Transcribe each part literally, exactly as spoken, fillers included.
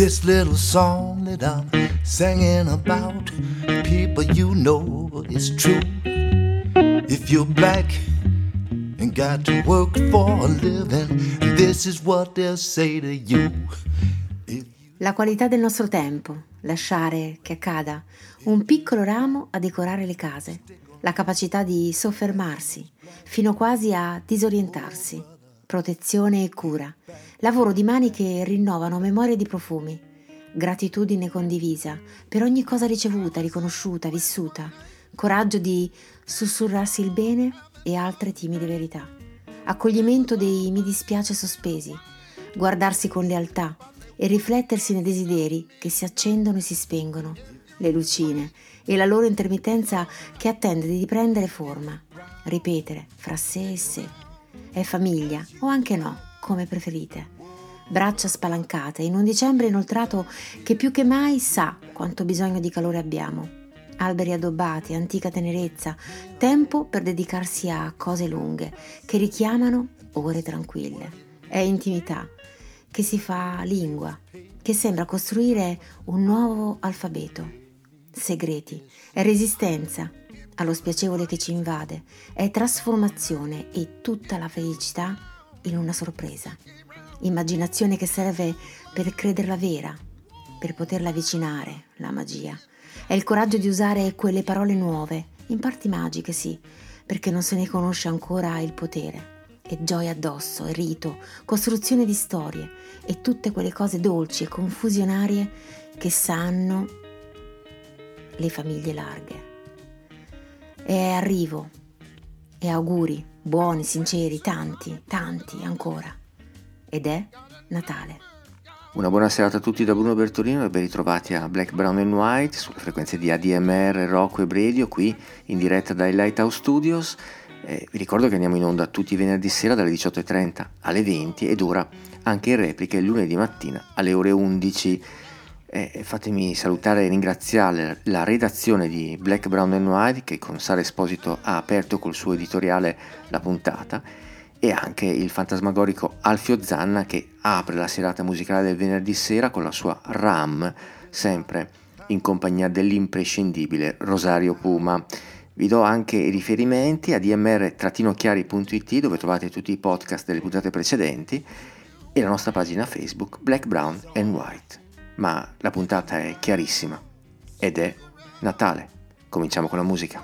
This little song that I'm singing about, people, you know it's true. If you're black and got to work for a living, this is what they'll say to you. La qualità del nostro tempo, lasciare che accada un piccolo ramo a decorare le case, la capacità di soffermarsi fino quasi a disorientarsi, protezione e cura, lavoro di mani che rinnovano memorie di profumi, gratitudine condivisa per ogni cosa ricevuta, riconosciuta, vissuta, coraggio di sussurrarsi il bene e altre timide verità, accoglimento dei mi dispiace sospesi, guardarsi con lealtà e riflettersi nei desideri che si accendono e si spengono, le lucine e la loro intermittenza che attende di prendere forma, ripetere fra sé e sé. È famiglia o anche no, come preferite. Braccia spalancate in un dicembre inoltrato che più che mai sa quanto bisogno di calore abbiamo. Alberi addobbati, antica tenerezza, tempo per dedicarsi a cose lunghe che richiamano ore tranquille. È intimità che si fa lingua, che sembra costruire un nuovo alfabeto. Segreti, è resistenza allo spiacevole che ci invade, è trasformazione e tutta la felicità in una sorpresa. Immaginazione che serve per crederla vera, per poterla avvicinare, la magia. È il coraggio di usare quelle parole nuove, in parti magiche sì, perché non se ne conosce ancora il potere. E gioia addosso, e rito, costruzione di storie e tutte quelle cose dolci e confusionarie che sanno le famiglie larghe. E arrivo, e auguri, buoni, sinceri, tanti, tanti ancora. Ed è Natale. Una buona serata a tutti da Bruno Bertolino e ben ritrovati a Black, Brown and White sulle frequenze di A D M R, Rock Web Radio, qui in diretta dai Lighthouse Studios. Eh, vi ricordo che andiamo in onda tutti i venerdì sera dalle diciotto e trenta alle venti ed ora anche in replica il lunedì mattina alle ore undici. Eh, fatemi salutare e ringraziare la redazione di Black, Brown and White che con Sara Esposito ha aperto col suo editoriale la puntata, e anche il fantasmagorico Alfio Zanna che apre la serata musicale del venerdì sera con la sua RAM, sempre in compagnia dell'imprescindibile Rosario Puma. Vi do anche i riferimenti a d m r chiari punto i t dove trovate tutti i podcast delle puntate precedenti e la nostra pagina Facebook Black, Brown and White. Ma la puntata è chiarissima ed è Natale. Cominciamo con la musica.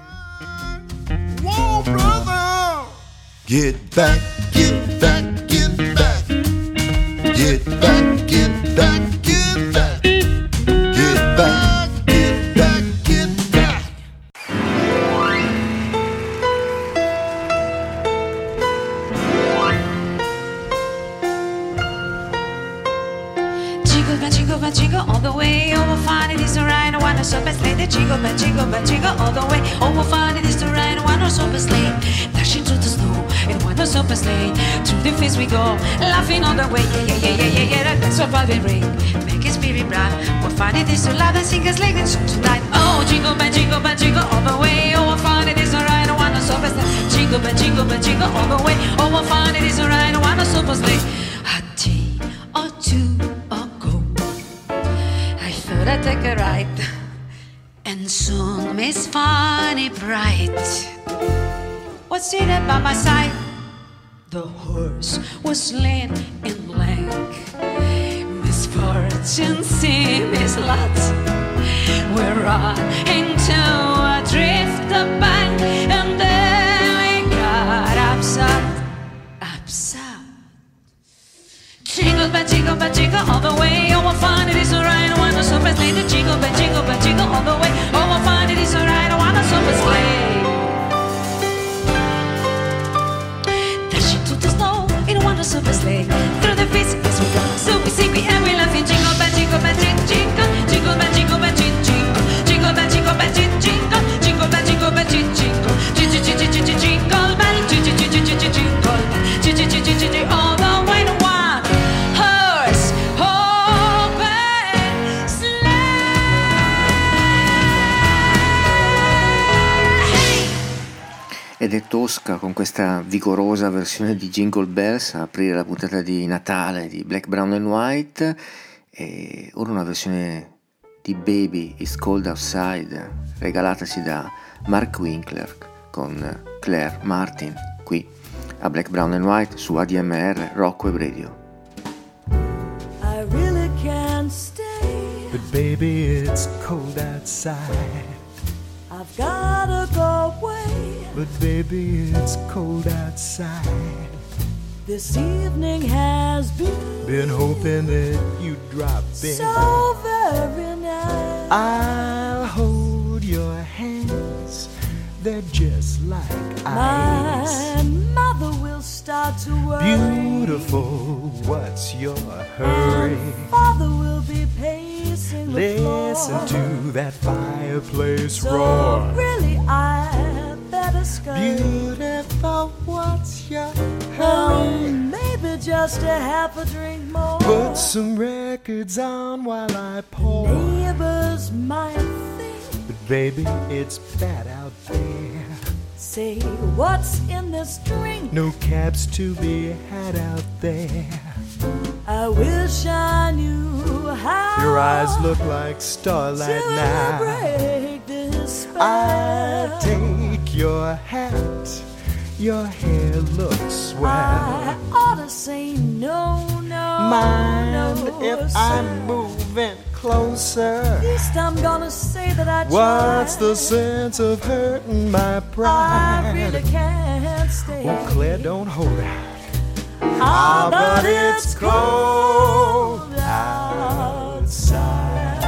Whoa, brother! Get back, get back, get back. Get back, get back, get back. Get back, get back, get back. Jingle bell, jingle bell, jingle all the way. Oh, we'll find it is alright. I wanna so best lady. Jingle bell, jingle bell, jingle all the way. Oh, we'll find it is alright. I wanna so best lady. Dashing through the snow in one so best lady. Through the fields we go, laughing all the way. Yeah, yeah, yeah, yeah, yeah, yeah. That's what velvet ring. Make it spirit bright. We'll find it is so loud and sing us like and song tonight. Oh, jingle bell, jingle bell, jingle all the way. Oh, we'll find it is alright. I wanna so best lady. Jingle bell, jingle bell, jingle all the way. Oh, we'll find it is alright. I wanna so best lady. A day or two ago, I thought I'd take a ride, and soon Miss Funny Bright was seated by my side. The horse was slain in blank. Misfortune seemed his lot. We're running to a drift of bank, and then we got upset, upset. Jingle bell, jingle bell, jingle all the way. Oh, we'll find it is alright. I wanna so best lay the jingle bell, jingle bell, jingle all the way. Oh, we'll find it is alright. I wanna so best lay. Dashing through the snow in a wonder super sleigh. Through the fields as we go, so we sing, we and we laughing. Jingle bell, jingle bell, jingle, jingle, jingle bell, jingle bell, jingle, jingle, jingle bell, jingle bell, jingle, jingle, jingle bell, jingle bell, jingle, jingle, jingle, jingle, jingle, jingle bell, jingle, jingle, jingle, jingle bell, jingle, jingle, jingle, all the way to one horse open sleigh. Ed è Tosca con questa vigorosa versione di Jingle Bells a aprire la puntata di Natale di Black, Brown and White. e ora una versione di Baby It's Cold Outside regalataci da Mark Winkler con Claire Martin qui a Black, Brown and White su A D M R Rock Web Radio. I really can't stay, but baby it's cold outside. I've gotta go away, but baby it's cold outside. This evening has been Been hoping that you'd drop in. so very nice. I'll hold your hands, they're just like My ice. mother will start to worry. Beautiful, what's your hurry? And father will be pacing the floor. Listen to that fireplace So roar. really I better scurry. Beautiful, what's your Oh, hurry? maybe just a half a drink more. Put some records on while I pour. Neighbors might think, But baby, it's bad out there. say, what's in this drink? No cabs to be had out there. I wish I knew how Your eyes look like starlight to now. break this I spell. take your hat, your hair looks swell. I ought to say no, no, Mind no, if sir. I'm moving closer? At least I'm gonna say that I tried. What's the sense of hurting my pride? I really can't stay. Oh, Claire, don't hold out. Ah, but it's cold outside.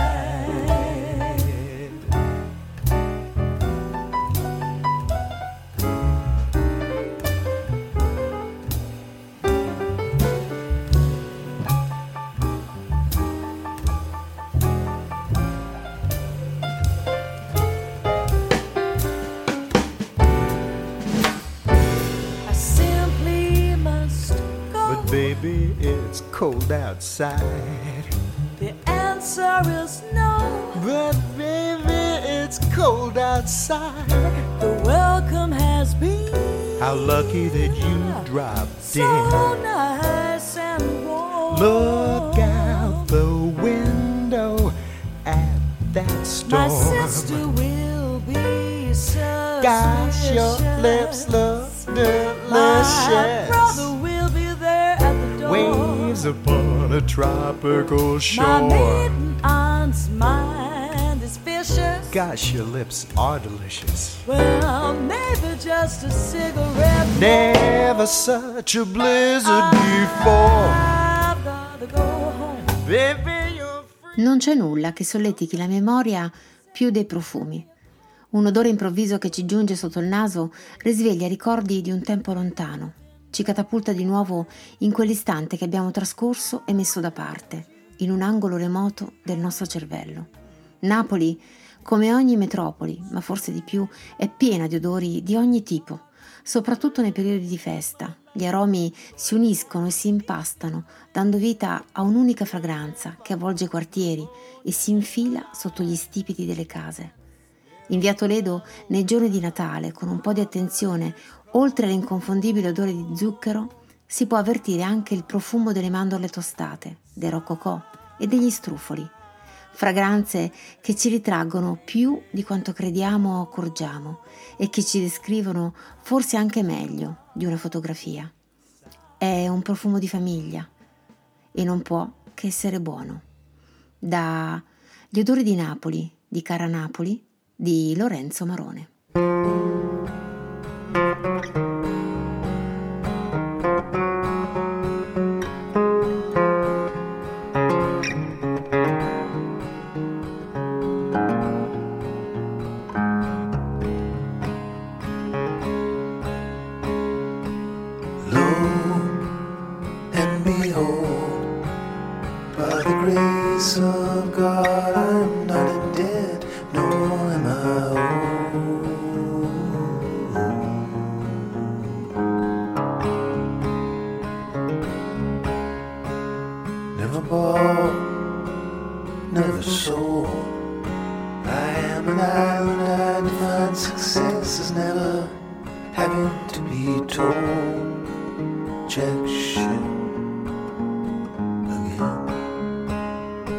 I simply must go. But baby, it's cold outside. The answer is no. But baby, it's cold outside. The welcome has been How lucky that you dropped so in. nice and warm. Look out the window at that storm. My sister will be suspicious. Gosh, your lips look My delicious. brother will be there at the door. Waves upon a tropical My shore. maiden aunt's mind is vicious. Gosh, your lips are delicious. Well, maybe just a cigarette. Never such a blizzard before. I've gotta go home. Baby, you're free. Non c'è nulla che solletichi la memoria più dei profumi. Un odore improvviso che ci giunge sotto il naso risveglia ricordi di un tempo lontano, ci catapulta di nuovo in quell'istante che abbiamo trascorso e messo da parte, in un angolo remoto del nostro cervello. Napoli, come ogni metropoli, ma forse di più, è piena di odori di ogni tipo, soprattutto nei periodi di festa. Gli aromi si uniscono e si impastano, dando vita a un'unica fragranza che avvolge i quartieri e si infila sotto gli stipiti delle case. In via Toledo, nei giorni di Natale, con un po' di attenzione, oltre all'inconfondibile odore di zucchero, si può avvertire anche il profumo delle mandorle tostate, dei roccocò e degli strufoli. Fragranze che ci ritraggono più di quanto crediamo o accorgiamo e che ci descrivono forse anche meglio di una fotografia. È un profumo di famiglia e non può che essere buono. Da Gli odori di Napoli, di Cara Napoli, di Lorenzo Marone. And behold, by the grace of God, I'm not dead, nor am I old. Never bought, never sold. I am an island, I define success as never having to be told. Jack shit again.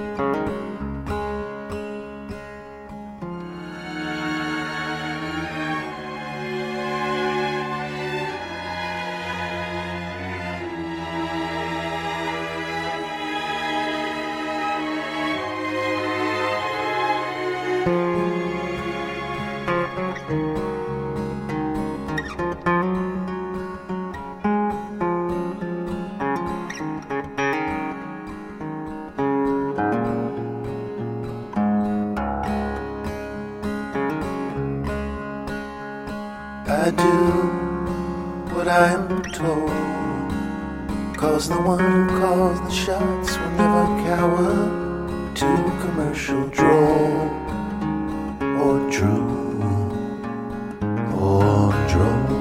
do what I am told, 'cause the one who calls the shots will never cower to commercial droll or true or droll.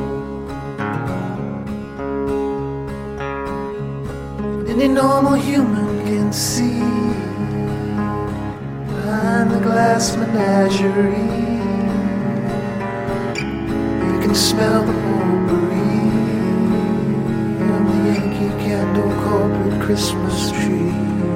Any normal human can see behind the glass menagerie. You can smell the potpourri on the Yankee Candle corporate Christmas tree.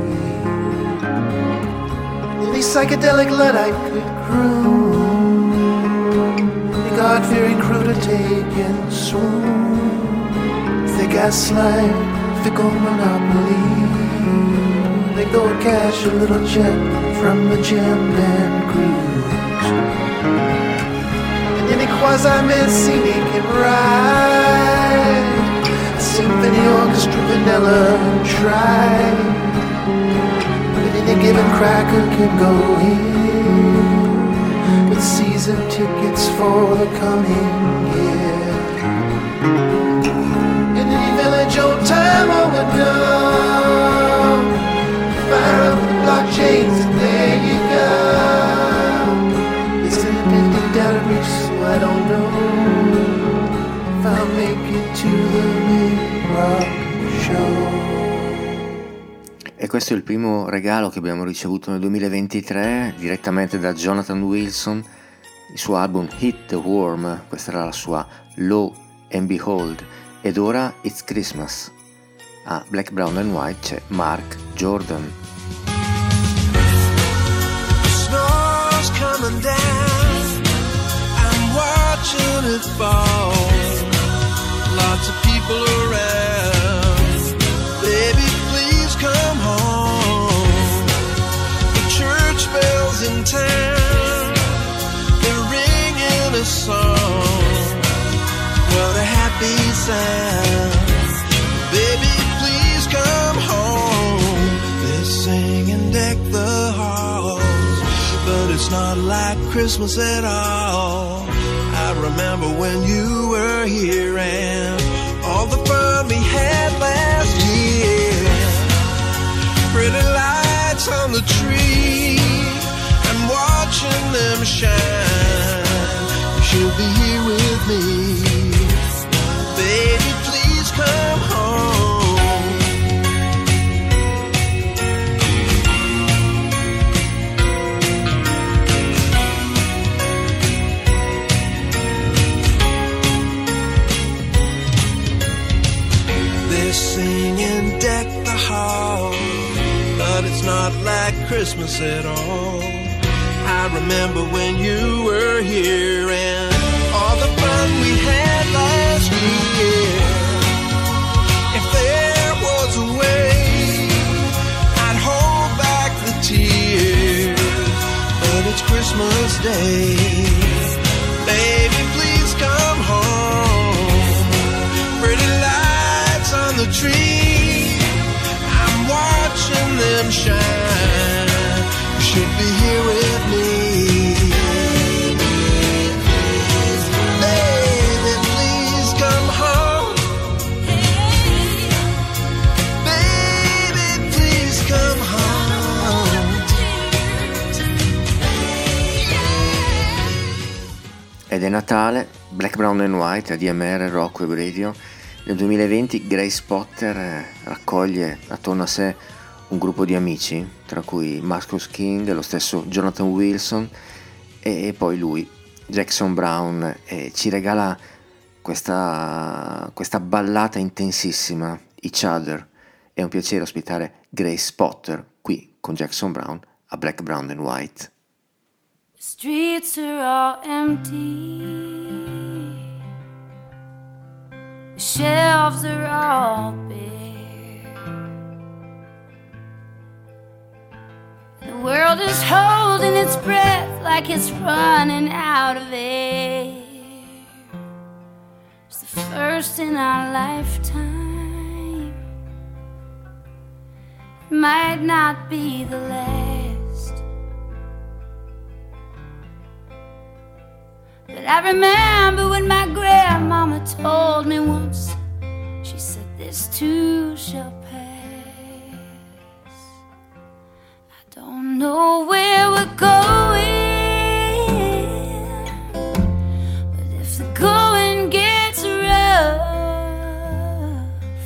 Any psychedelic Luddite could croon, any God-fearing crew to take and swoon. If they gaslight, fickle monopoly, they go cash a little check from the jam band crews. And any quasi-Mancini can ride a symphony orchestra vanilla and try, but any given cracker can go in with season tickets for the coming year. In any village old time overdone, fire up the blockchains and there you go. It's an ending down a reach, so I don't know if I'll make it to the big rock show. E questo è il primo regalo che abbiamo ricevuto nel duemilaventitré direttamente da Jonathan Wilson, il suo album Hit the Worm. Questa era la sua Lo and Behold. Ed ora It's Christmas. A Black, Brown and White c'è Mark Jordan. Snow's coming down, I'm watching it fall. Lots of people around, baby please come home. The church bells in town, they're ringing a song. What a happy sound, baby please come home. They sing and deck the halls, but it's not like Christmas at all. I remember when you were here and all the fun we had last year. Pretty lights on the tree, I'm watching them shine. You'll be here with me, baby please come home. They're singing deck the hall, but it's not like Christmas at all. I remember when you were here and all the fun we had last year. If there was a way, I'd hold back the tears, but it's Christmas Day. Baby, please come home. Pretty lights on the tree, I'm watching them shine. You should be here with me. Ed è Natale, Black, Brown and White, A D M R, Rock Web Radio. Nel duemilaventi Grace Potter raccoglie attorno a sé un gruppo di amici, tra cui Marcus King, lo stesso Jonathan Wilson e poi lui, Jackson Brown, e ci regala questa, questa ballata intensissima, Each Other. È un piacere ospitare Grace Potter qui con Jackson Brown a Black, Brown and White. Streets are all empty, the shelves are all bare, the world is holding its breath like it's running out of air. It's the first in our lifetime, it might not be the last. But I remember when my grandmama told me once, she said, this too shall pass. I don't know where we're going, but if the going gets rough,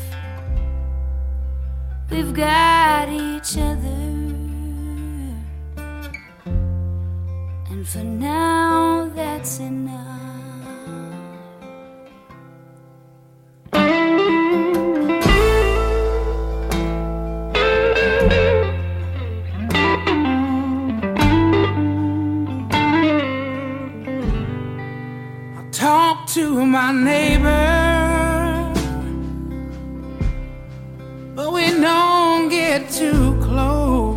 we've got each other. And for now, that's enough. Talk to my neighbor, but we don't get too close.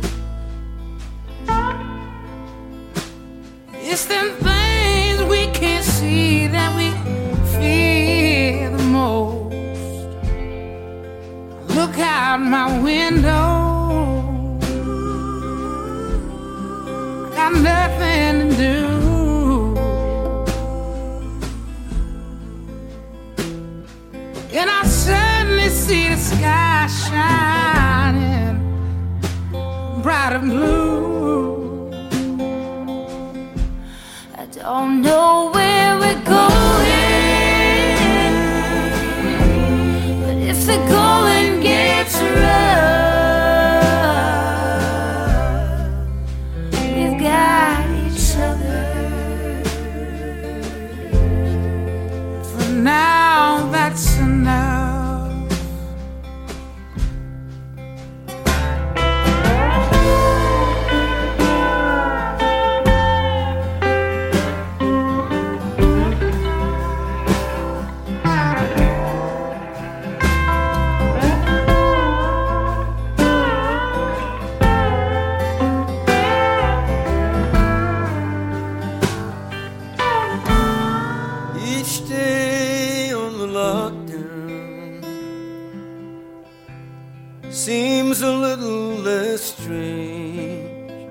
It's them things we can't see that we fear the most. Look out my window, got nothing to do. And I suddenly see the sky shining bright and blue. I don't know where we're going, but if the going gets rough, we've got each other. For now, that's enough. Each day on the lockdown seems a little less strange.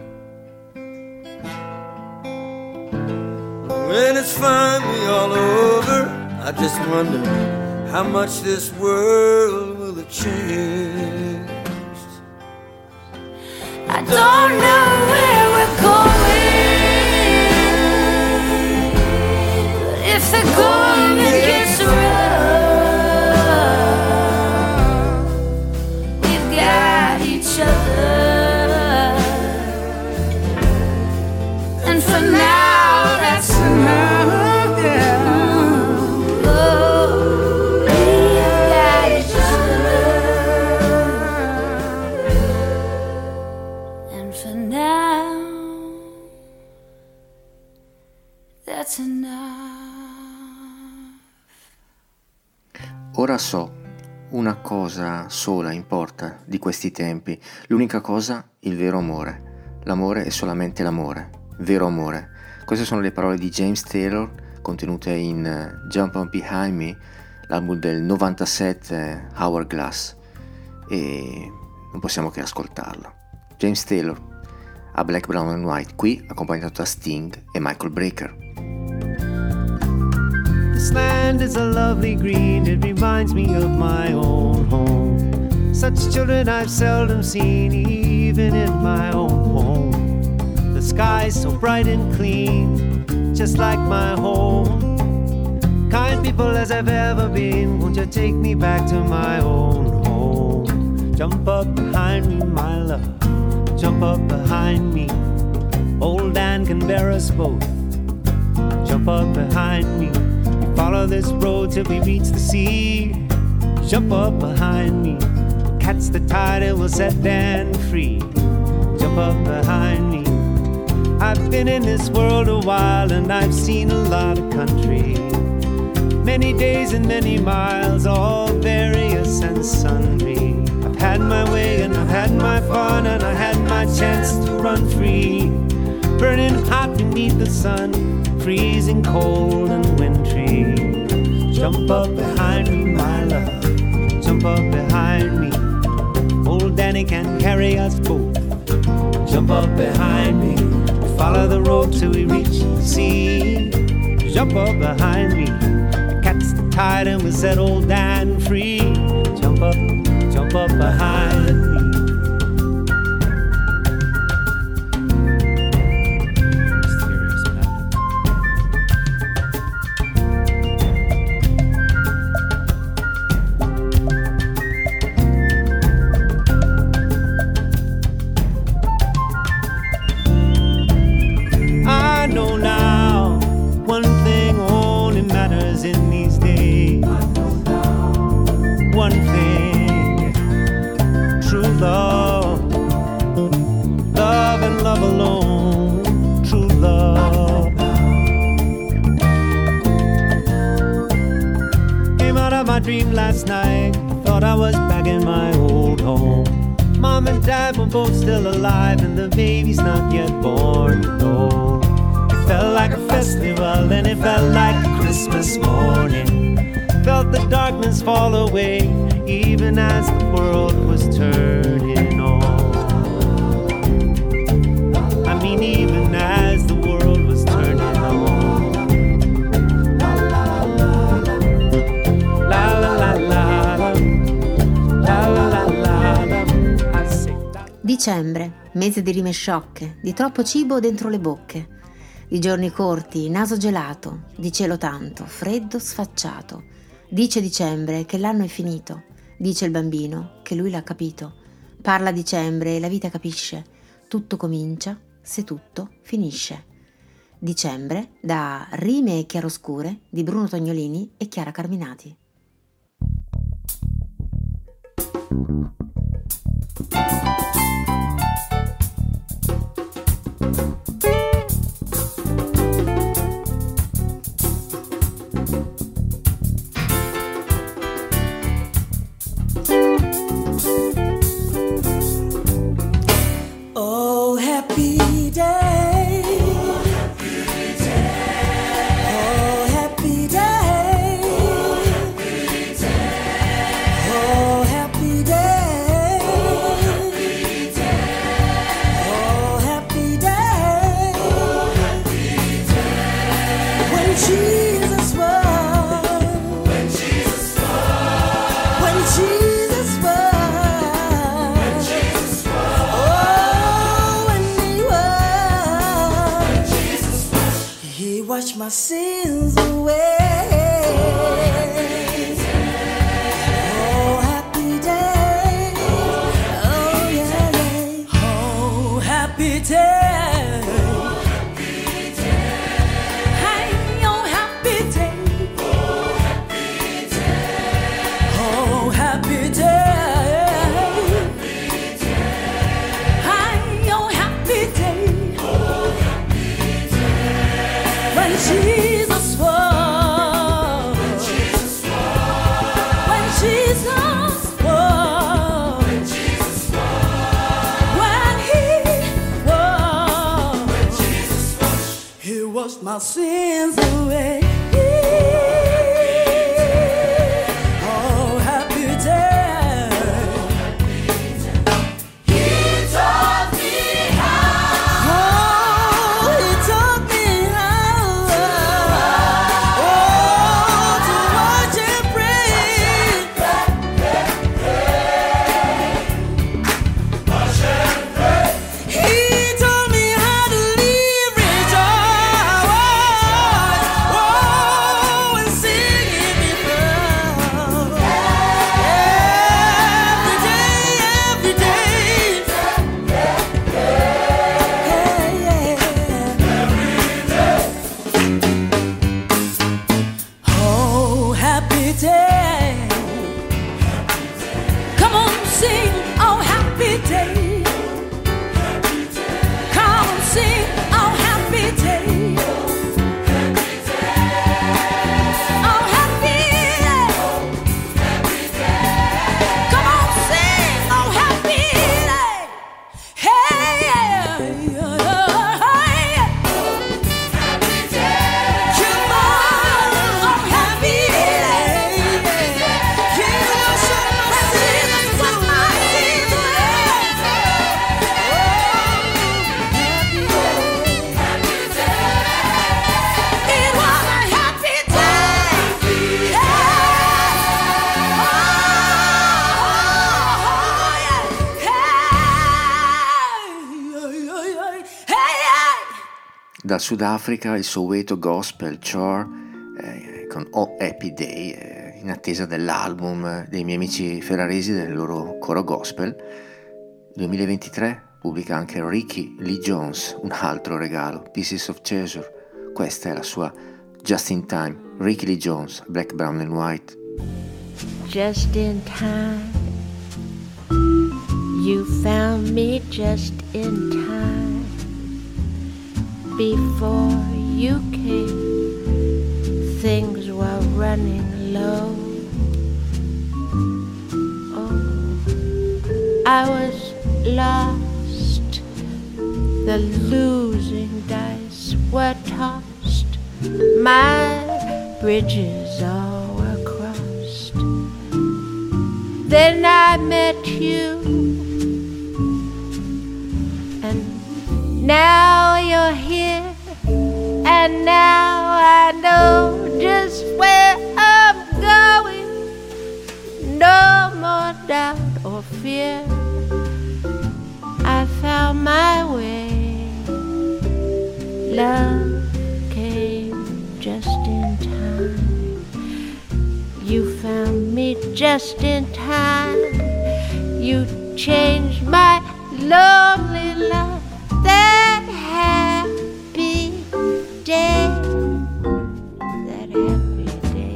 When it's finally all over, I just wonder how much this world will have changed. I don't know where we're going, but if the going gets rough, we've got each other. And for now, that's enough. Yeah. Oh, we've got each other. And for now, that's enough. Ora so, una cosa sola importa di questi tempi, l'unica cosa, il vero amore. L'amore è solamente l'amore, vero amore. Queste sono le parole di James Taylor contenute in uh, Jump Up Behind Me, l'album del novantasette Hourglass, e non possiamo che ascoltarlo. James Taylor a Black, Brown and White, qui accompagnato da Sting e Michael Brecker. This land is a lovely green, it reminds me of my own home. Such children I've seldom seen, even in my own home. The sky's so bright and clean, just like my home. Kind people as I've ever been, won't you take me back to my own home? Jump up behind me, my love, jump up behind me. Old Dan can bear us both. Jump up behind me. Follow this road till we reach the sea. Jump up behind me. Catch the tide, it will set Dan free. Jump up behind me. I've been in this world a while and I've seen a lot of country. Many days and many miles, all various and sundry. I've had my way and I've had my fun and I had my chance to run free. Burning hot beneath the sun, freezing cold and wintry. Jump up behind me, my love, jump up behind me. Old Danny can carry us both. Jump up behind me, follow the road till we reach the sea. jump up behind me. Catch the tide and we set old Dan free. Jump up, jump up behind me. Dream last night, thought I was back in my old home. Mom and Dad were both still alive and the baby's not yet born. No, it felt like a festival and it felt like a Christmas morning. Felt the darkness fall away even as the world was turning on. I mean even as the world was turning on. Dicembre, mese di rime sciocche, di troppo cibo dentro le bocche, di giorni corti, naso gelato, di cielo tanto, freddo sfacciato. Dice dicembre che l'anno è finito, dice il bambino che lui l'ha capito. Parla dicembre e la vita capisce, tutto comincia se tutto finisce. Dicembre, da Rime e chiaroscure di Bruno Tognolini e Chiara Carminati. Oh, happy day. Oh, happy day. Oh, happy day. Oh, happy day. Oh, happy day. When Jesus was. When Jesus was. When Jesus was. When Jesus was. Oh, when he was. When Jesus was. He washed my sins away. Oh, happy day. Oh, yeah, yeah. Oh, happy day. Hey, oh, happy day. Oh, happy day. Hey, oh, happy day. When Jesus was. When Jesus was. When Jesus was. When he was. When Jesus was. He washed my sins away. Oh, happy day. He taught me how. Oh, he taught me how. Oh, to watch and pray. He taught me how to live rejoice. Oh, and sing in me proud. Every day, every day. Oh, happy day. Come on, sing, oh, happy day. Come on, sing, oh, happy day. Oh, happy day. Come on, sing, oh, happy day. Hey, yeah, yeah, yeah. Come on, oh, happy day. He will show my sins away. dal Sudafrica il Soweto Gospel Choir eh, con Oh Happy Day, eh, in attesa dell'album dei miei amici ferraresi del loro coro gospel. duemilaventitré pubblica anche Ricky Lee Jones, un altro regalo, Pieces of Treasure. Questa è la sua Just in Time, Ricky Lee Jones, Black, Brown and White. Just in time, you found me just in time. Before you came, things were running low. Oh, I was lost, the losing dice were tossed, my bridges all were crossed. Then I met you, and now you're here, and now I know just where I'm going. No more doubt or fear, I found my way. Love came just in time. You found me just in time. You changed my lonely life. That happy day, that happy day.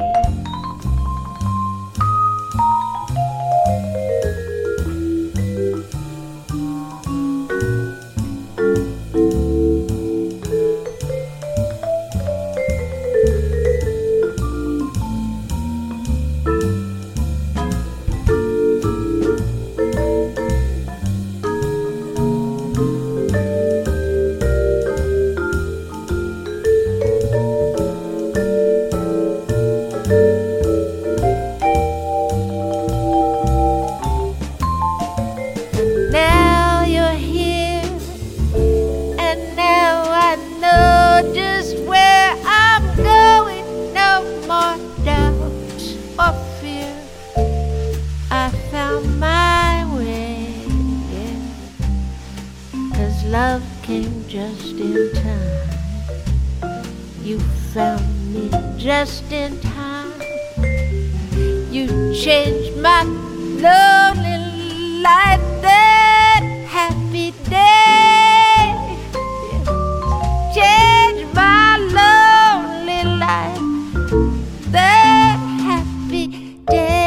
Love came just in time. You found me just in time. You changed my lonely life. That happy day changed my lonely life. That happy day.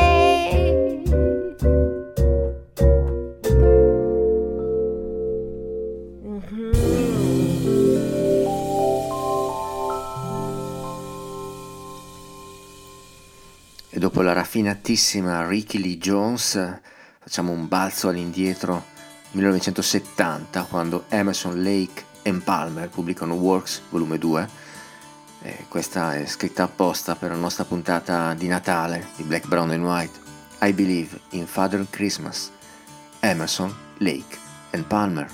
E dopo la raffinatissima Ricky Lee Jones facciamo un balzo all'indietro, millenovecentosettanta, quando Emerson, Lake e Palmer pubblicano Works volume due. E questa è scritta apposta per la nostra puntata di Natale di Black, Brown and White. I Believe in Father Christmas, Emerson, Lake and Palmer.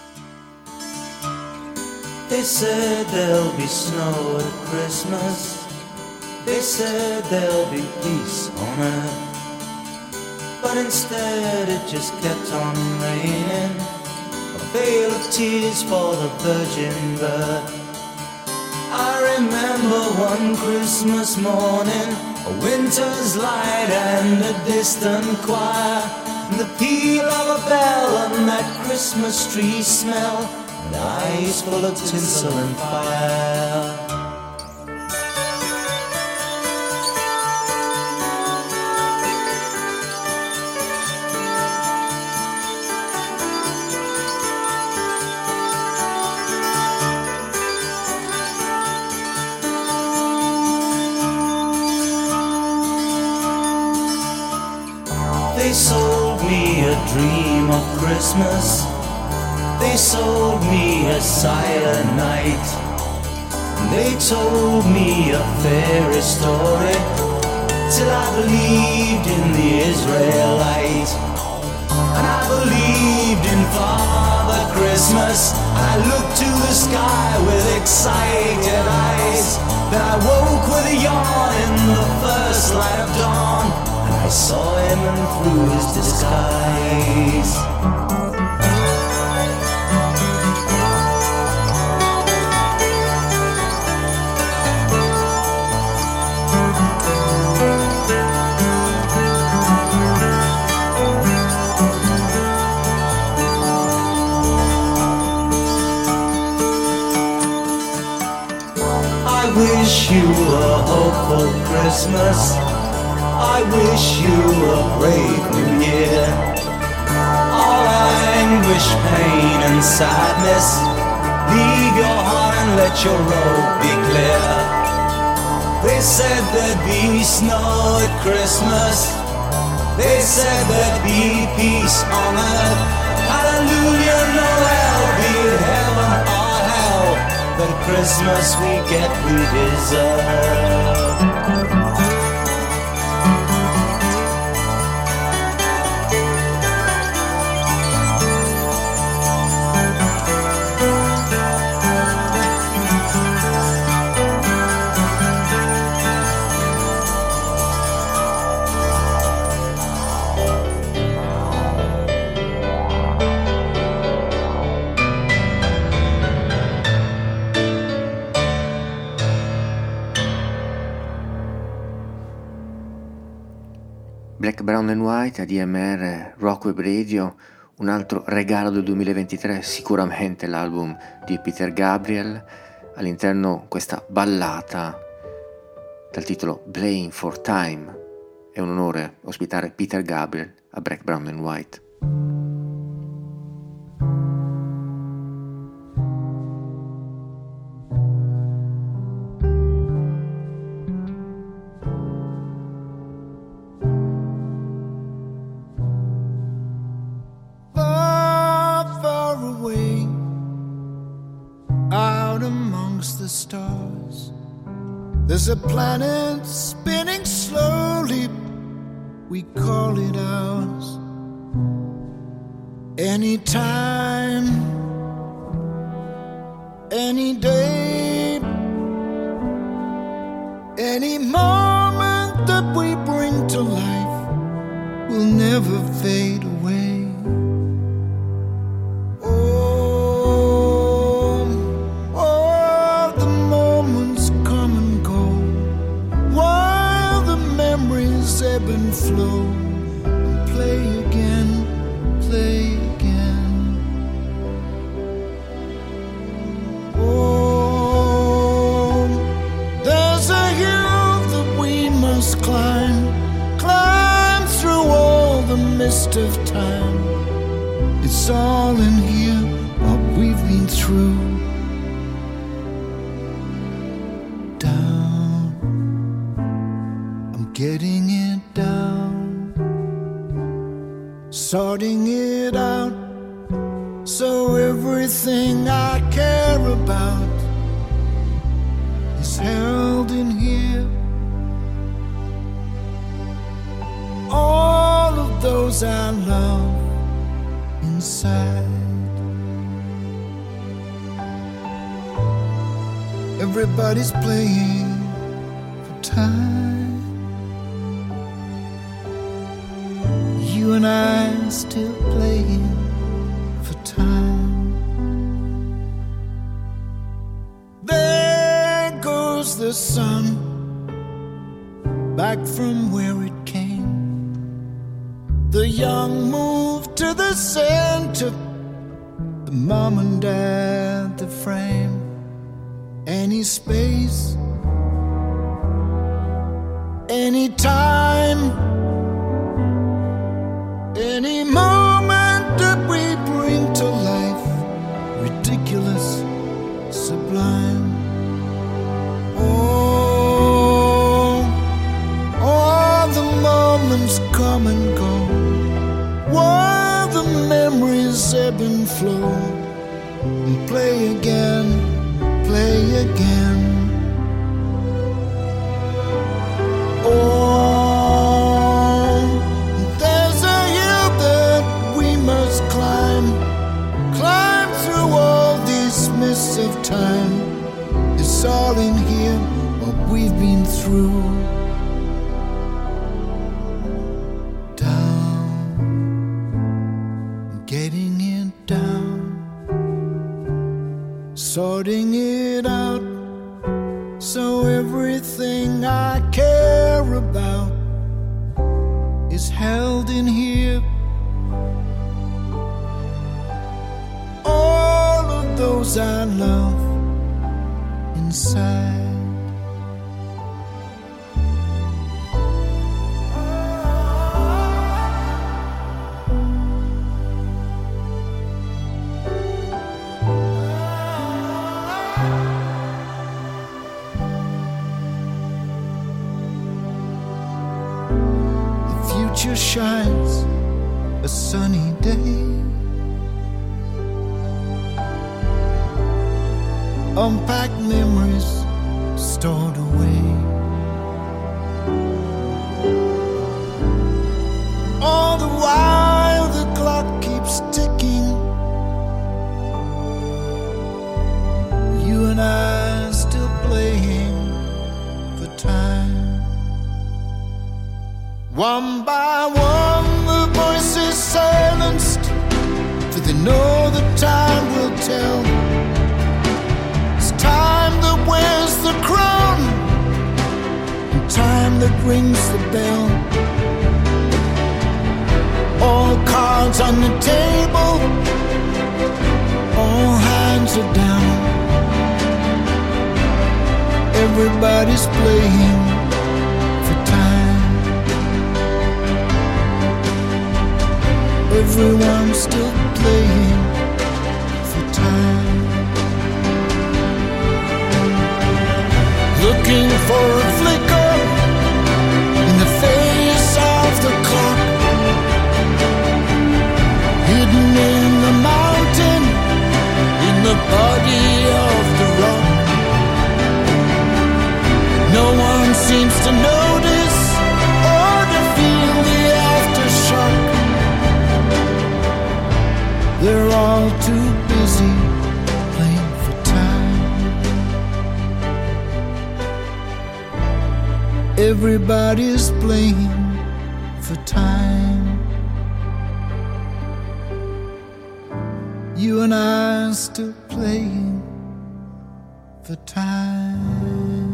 They said there'll be snow at Christmas. They said there'll be peace on earth, but instead it just kept on raining, a veil of tears for the virgin birth. I remember one Christmas morning, a winter's light and a distant choir, and the peal of a bell and that Christmas tree smell, and eyes full of tinsel and fire. They sold me a dream of Christmas. They sold me a silent night. They told me a fairy story till I believed in the Israelite. And I believed in Father Christmas. I looked to the sky with excited eyes. Then I woke with a yawn in the first light of dawn. I saw him and through his disguise. Christmas. I wish you a brave new year. All anguish, pain and sadness, leave your heart and let your road be clear. They said there'd be snow at Christmas. They said there'd be peace on earth. Hallelujah, Noel, be it heaven or hell. The Christmas we get, we deserve. Black, Brown and White, A D M R, Rock Web Radio, un altro regalo del duemilaventitré, sicuramente l'album di Peter Gabriel, all'interno questa ballata dal titolo Playing for Time. È un onore ospitare Peter Gabriel a Black, Brown and White. Stars, there's a planet spinning slowly, we call it ours. Anytime, any day, any moment that we bring to life will never fade away. Ebb and flow and play again, play again. Oh, there's a hill that we must climb, climb through all the mist of time. It's all in here, what we've been through. Down, I'm getting it. Sorting it out, so everything I care about is held in here. All of those I love inside. Everybody's playing for time. You and I still playing for time. There goes the sun, back from where it came. The young move to the center, the mom and dad, the frame. Any space, any time, any moment that we bring to life, ridiculous, sublime. Oh, all the moments come and go, while the memories ebb and flow, and play again, play again. Oh, of time, it's all in here, what we've been through. Down, getting it down, sorting it out, so everything I care about is held in here. Those I love inside. future shines a sunny day. Unpacked memories stored away. All the while the clock keeps ticking, you and I still playing for time. One by one the voices silenced, for they know the time will tell. It's time that wears the crown, and time that rings the bell. All cards on the table, all hands are down. Everybody's playing for time. Everyone's still playing for time. Looking for a flicker in the face of the clock, hidden in the mountain, in the body of the rock. No one seems to notice or to feel the aftershock. They're all too busy playing for time. Everybody's playing for time. You and I are still playing for time.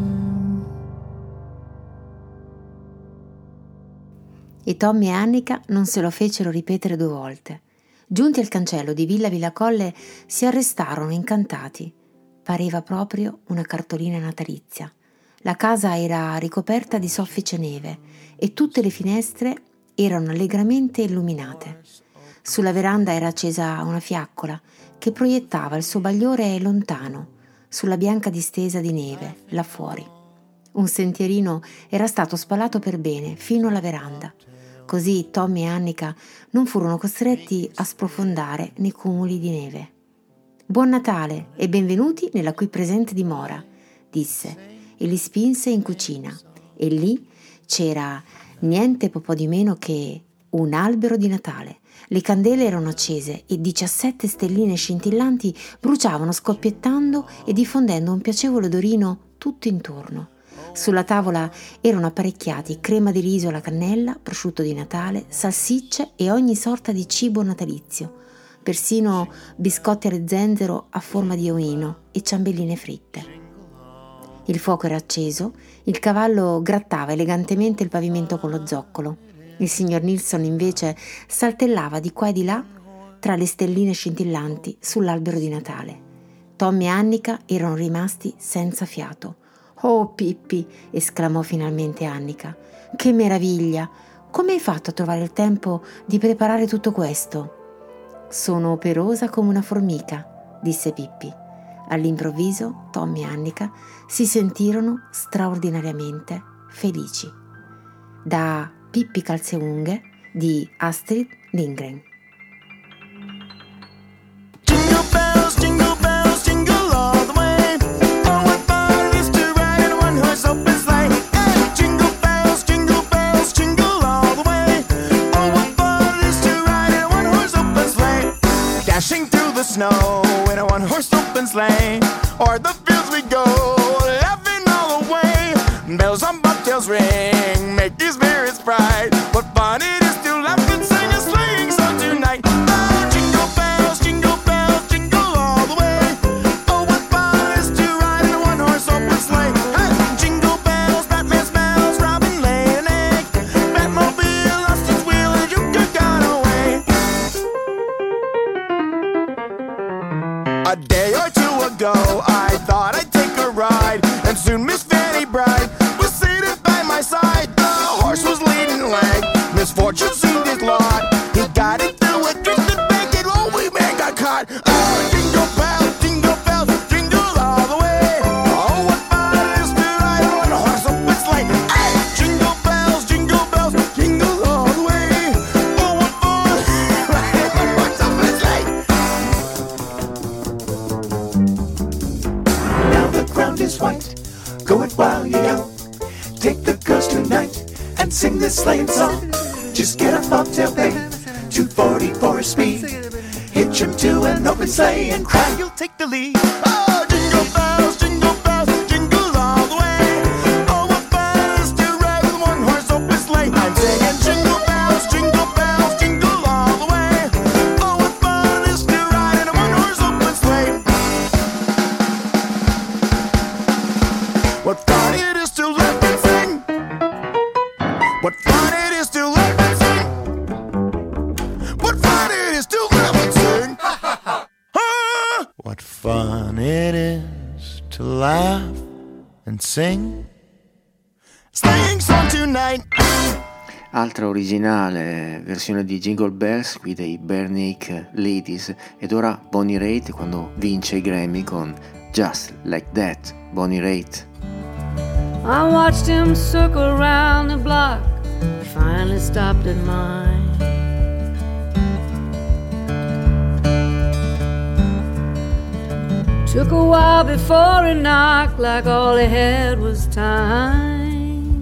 E Tommy e Annika non se lo fecero ripetere due volte. Giunti al cancello di Villa Villacolle si arrestarono incantati. Pareva proprio una cartolina natalizia. La casa era ricoperta di soffice neve e tutte le finestre erano allegramente illuminate. Sulla veranda era accesa una fiaccola che proiettava il suo bagliore lontano sulla bianca distesa di neve là fuori. Un sentierino era stato spalato per bene fino alla veranda. Così Tommy e Annika non furono costretti a sprofondare nei cumuli di neve. «Buon Natale e benvenuti nella qui presente dimora», disse e li spinse in cucina. E lì c'era niente po' di meno che un albero di Natale. Le candele erano accese e diciassette stelline scintillanti bruciavano scoppiettando e diffondendo un piacevole odorino tutto intorno. Sulla tavola erano apparecchiati crema di riso alla cannella, prosciutto di Natale, salsicce e ogni sorta di cibo natalizio, persino biscotti allo zenzero a forma di omino e ciambelline fritte. Il fuoco era acceso, il cavallo grattava elegantemente il pavimento con lo zoccolo. Il signor Nilsson invece saltellava di qua e di là tra le stelline scintillanti sull'albero di Natale. Tommy e Annika erano rimasti senza fiato. «Oh, Pippi!» esclamò finalmente Annika. «Che meraviglia! Come hai fatto a trovare il tempo di preparare tutto questo?» «Sono operosa come una formica», disse Pippi. All'improvviso Tommy e Annika si sentirono straordinariamente felici. Da Pippi Calzeunghe di Astrid Lindgren. Jingle bells, jingle bells, jingle all the way. Oh, what fun it is to ride in a one-horse open sleigh. Hey, jingle bells, jingle bells, jingle all the way. Oh, what fun it is to ride in a one-horse open sleigh. Dashing through the snow in a one-horse open sleigh. O'er the fields we go, laughing all the way. Bells on bobtails ring, make these spirits bright. What fun it is to laugh and sing a sleighing song tonight. Oh, jingle bells, jingle bells, jingle all the way. Oh, what fun it is to ride in a one-horse open sleigh. Hey, jingle bells, Batman smells, Robin laid an egg. Batmobile lost its wheel and you could gone away. A day or two ago, I thought I'd take a ride, and soon Miss Fanny Bride was seated by my side. The horse was leading the leg, misfortune seemed his lot. He got it through a twisted bacon, oh, we man got caught. Oh, jingle bells, jingle bells, jingle all the way. Oh, what fun it is to ride on a horse open sleigh. Hey, jingle bells, jingle bells, jingle all the way. sing this sleighing song. Just get a bobtail babe, two forty for a speed. Hitch him to an open sleigh and cry, you'll take the lead. Oh, jingle bells, jingle bells, jingle all the way. Oh, what fun it is to ride with one horse open sleigh. I'm singing jingle bells, jingle bells, jingle all the way. Oh, what fun it is to ride in a one horse open sleigh. What fun it is to laugh and sing. What fun it is to laugh and sing. What fun it is to laugh and sing. What fun it is to laugh and sing. Singing song tonight. Altra originale versione di Jingle Bells qui dei Barenaked Ladies, ed ora Bonnie Raitt quando vince i Grammy con Just Like That. Bonnie Raitt. I watched him circle around the block, finally stopped at mine. Took a while before he knocked, like all he had was time.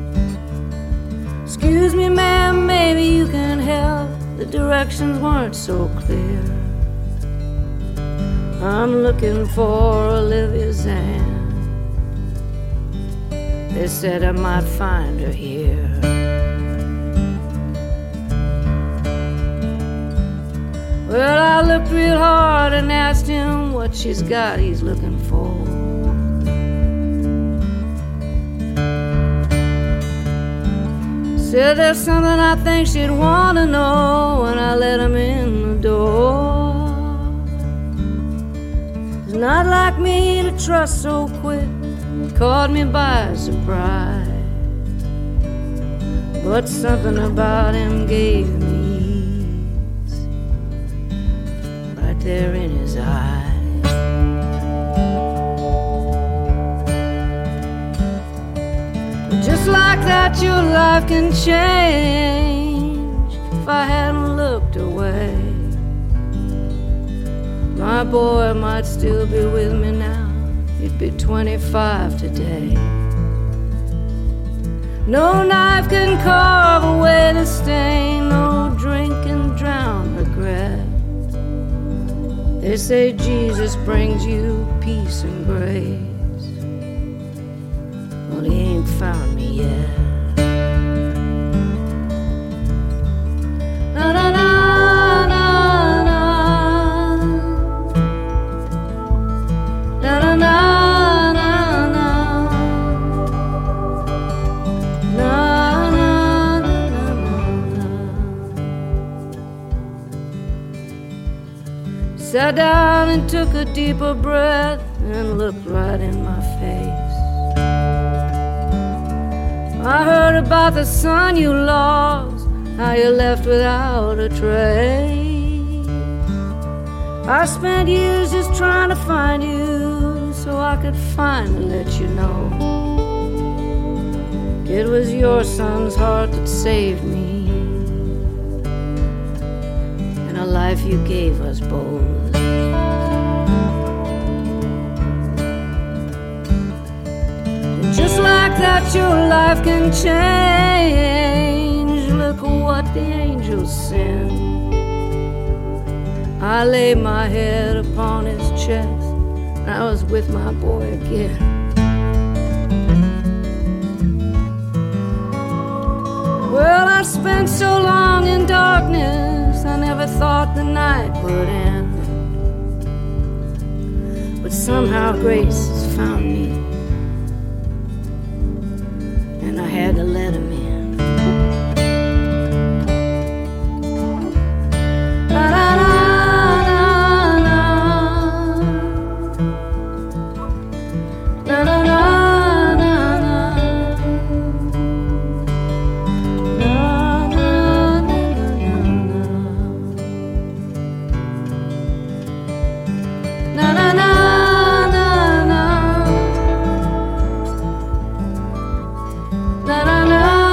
Excuse me, ma'am, maybe you can help. The directions weren't so clear. I'm looking for Olivia Zan. They said I might find her here. Well, I looked real hard and asked him what she's got he's looking for. Said there's something I think she'd want to know, and I let him in the door. It's not like me to trust so quick. Caught me by surprise, but something about him gave me ease, right there in his eyes. Just like that your life can change if I hadn't looked away. My boy might still be with me now. He'd be twenty-five today. No knife can carve away the stain, no drink can drown regret. They say Jesus brings you peace and grace. Well, he ain't found me yet. Na na na. Sat down and took a deeper breath and looked right in my face. I heard about the son you lost, how you left without a trace. I spent years just trying to find you so I could finally let you know it was your son's heart that saved me, and a life you gave us both. Just like that your life can change. Look what the angels send. I lay my head upon his chest, and I was with my boy again. Well, I spent so long in darkness, I never thought the night would end. But somehow grace has found me, and I had to let him in. Na na na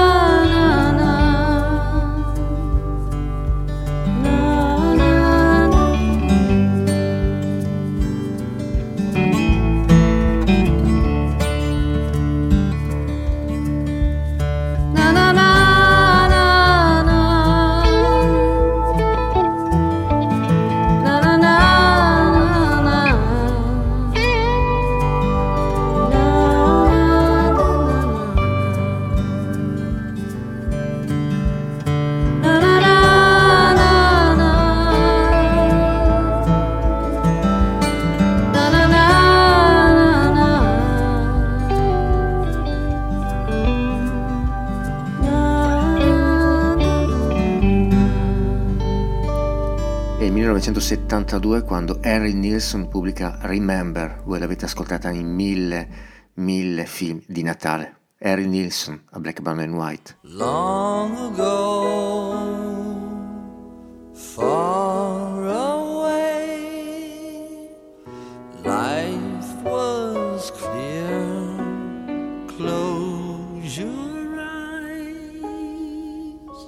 millenovecentosettantadue, quando Harry Nilsson pubblica Remember. Voi l'avete ascoltata in mille, mille film di Natale. Harry Nilsson a Black, Brown and White. Long ago, far away, life was clear. Close your eyes.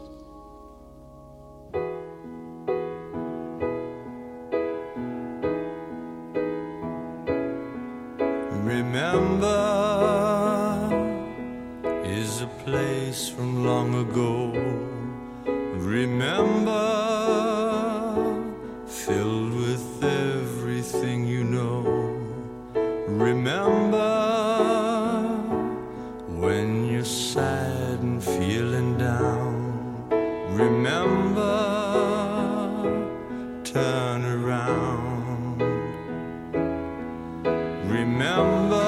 Remember is a place from long ago. Remember, filled with everything you know. Remember, when you're sad and feeling down. Remember, turn around. Remember,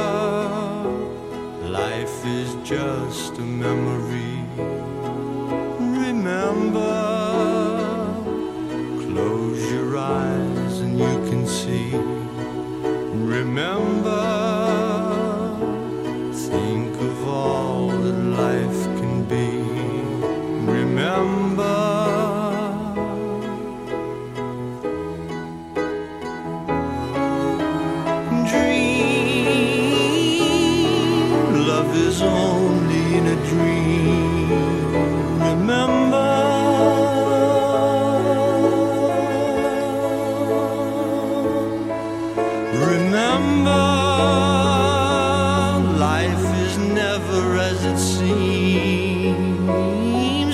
life is just a memory. Remember, close your eyes and you can see. Remember, think of all that life can be. Remember, dream, love is only in a dream. Remember, remember, life is never as it seems.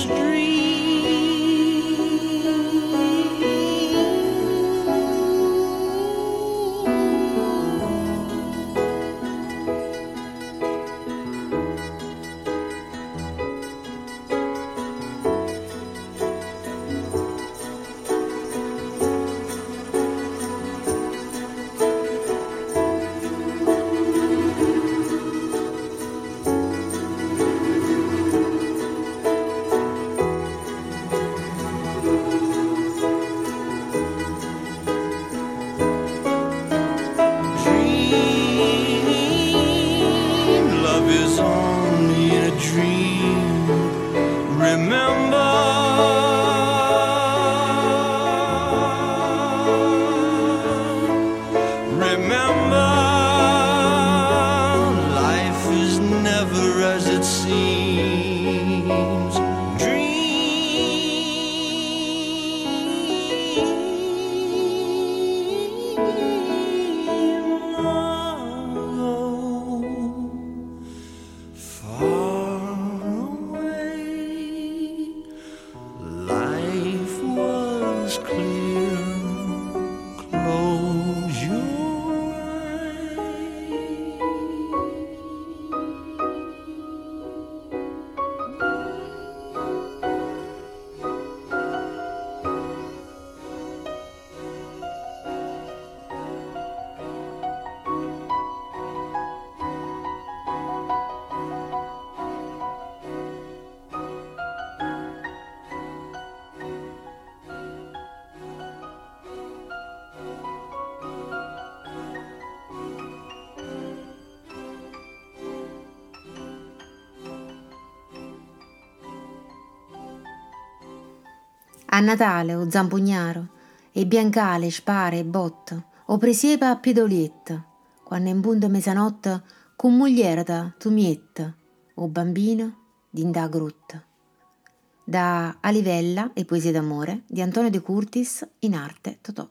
A Natale o zampugnaro, e biancale, spare e botto, o presiepa a pidolietta, quando in bunto mezzanotte con muglierata tu mietta, o bambino d'indà grutta. Da Alivella e Poesie d'amore di Antonio De Curtis in arte Totò.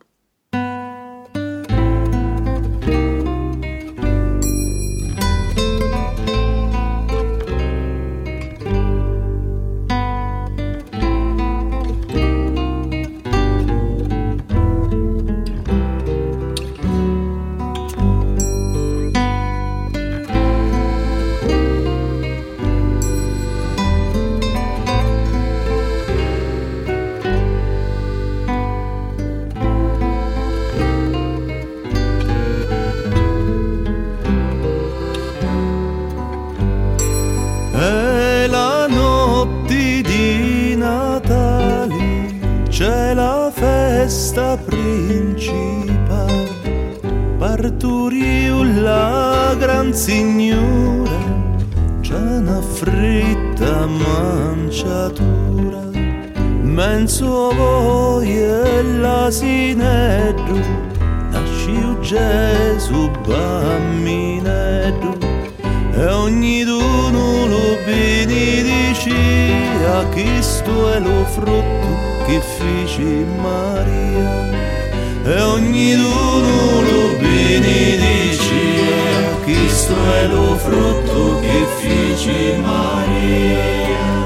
festa principale, parturiu la gran signora, c'è una fritta manciatura, menso voi e l'asineddu, nasciu Gesù bammineddu, e ogni d'uno lo bini dicia, Cristo è lo frutto che fece Maria, e ogni d'uno lo bini dicia, Cristo è lo frutto che fece Maria.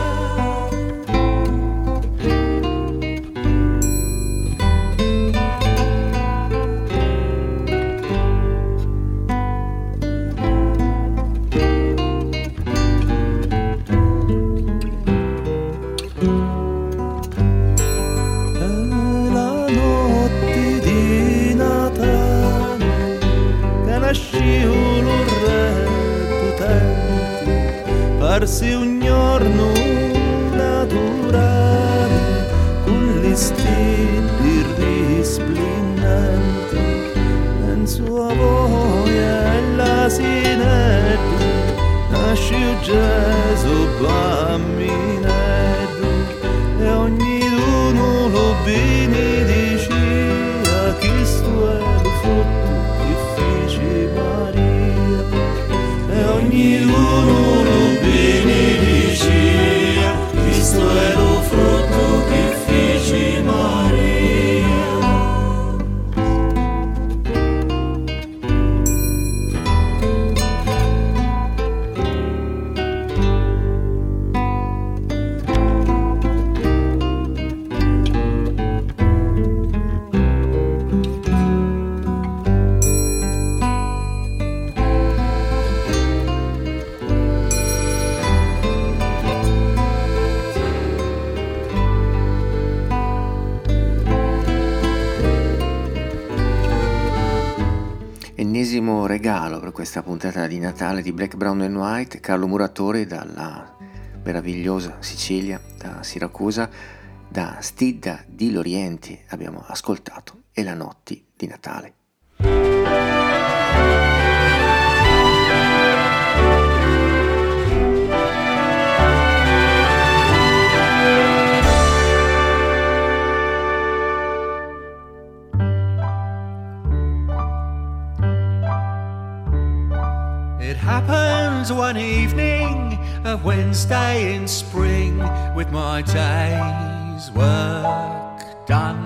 Parsi un giorno naturale, con gli stili risplendenti, penso a voi e l'asinetto, nasce Gesù bamminetto, e ogni uno lo benedice, Cristo è lo frutto che fece Maria, e ogni uno Cristo è lo frutto che fece Maria. Ennesimo regalo per questa puntata di Natale di Black, Brown and White, Carlo Muratori dalla meravigliosa Sicilia, da Siracusa, da Stidda di Lorienti abbiamo ascoltato E la notti di Natale. It happened one evening, a Wednesday in spring, with my day's work done.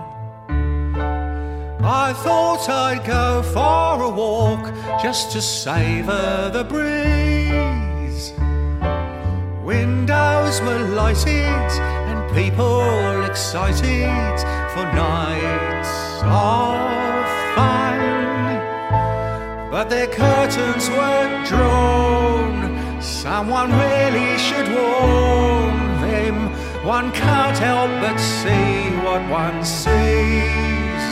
I thought I'd go for a walk just to savour the breeze. Windows were lighted and people excited for nights of fun. But their curtains were drawn, someone really should warn them. One can't help but see what one sees.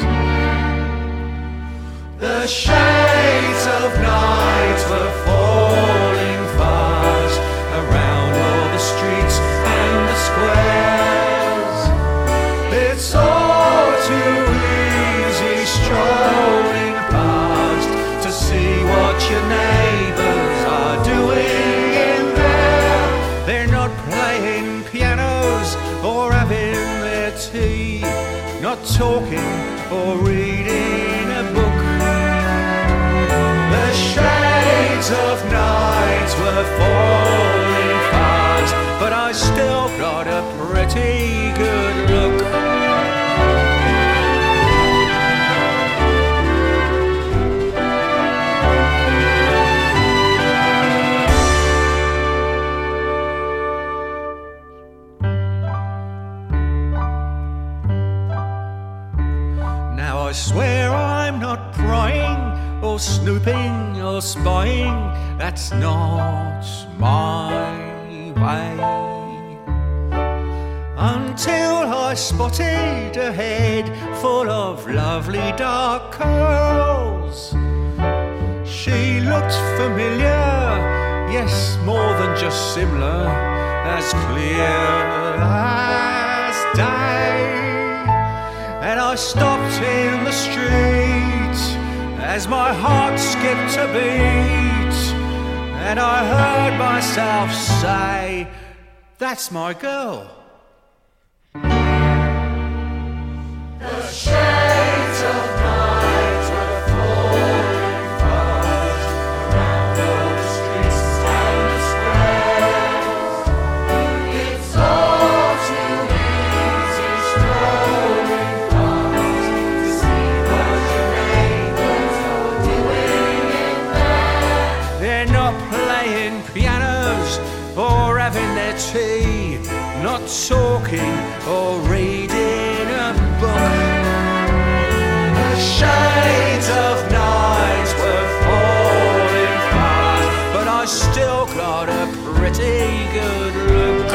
The shades of night were falling fast around all the streets and the squares. It's all too easy strolling past to see what your neighbours are doing in there. They're not playing pianos or having their tea, not talking or reading a book. The shades of night were falling fast, but I still got a pretty good look. I swear I'm not prying or snooping or spying, that's not my way. Until I spotted a head full of lovely dark curls. She looked familiar, yes, more than just similar, as clear as day. And I I stopped in the street as my heart skipped a beat, and I heard myself say, that's my girl. The shades of night were falling fast around all the streets and the squares. It's all too easy strolling past to see what your neighbors are doing in there. They're not playing pianos or having their tea, not talking or reading a book. The shades of night were falling fast, but I still got a pretty good look.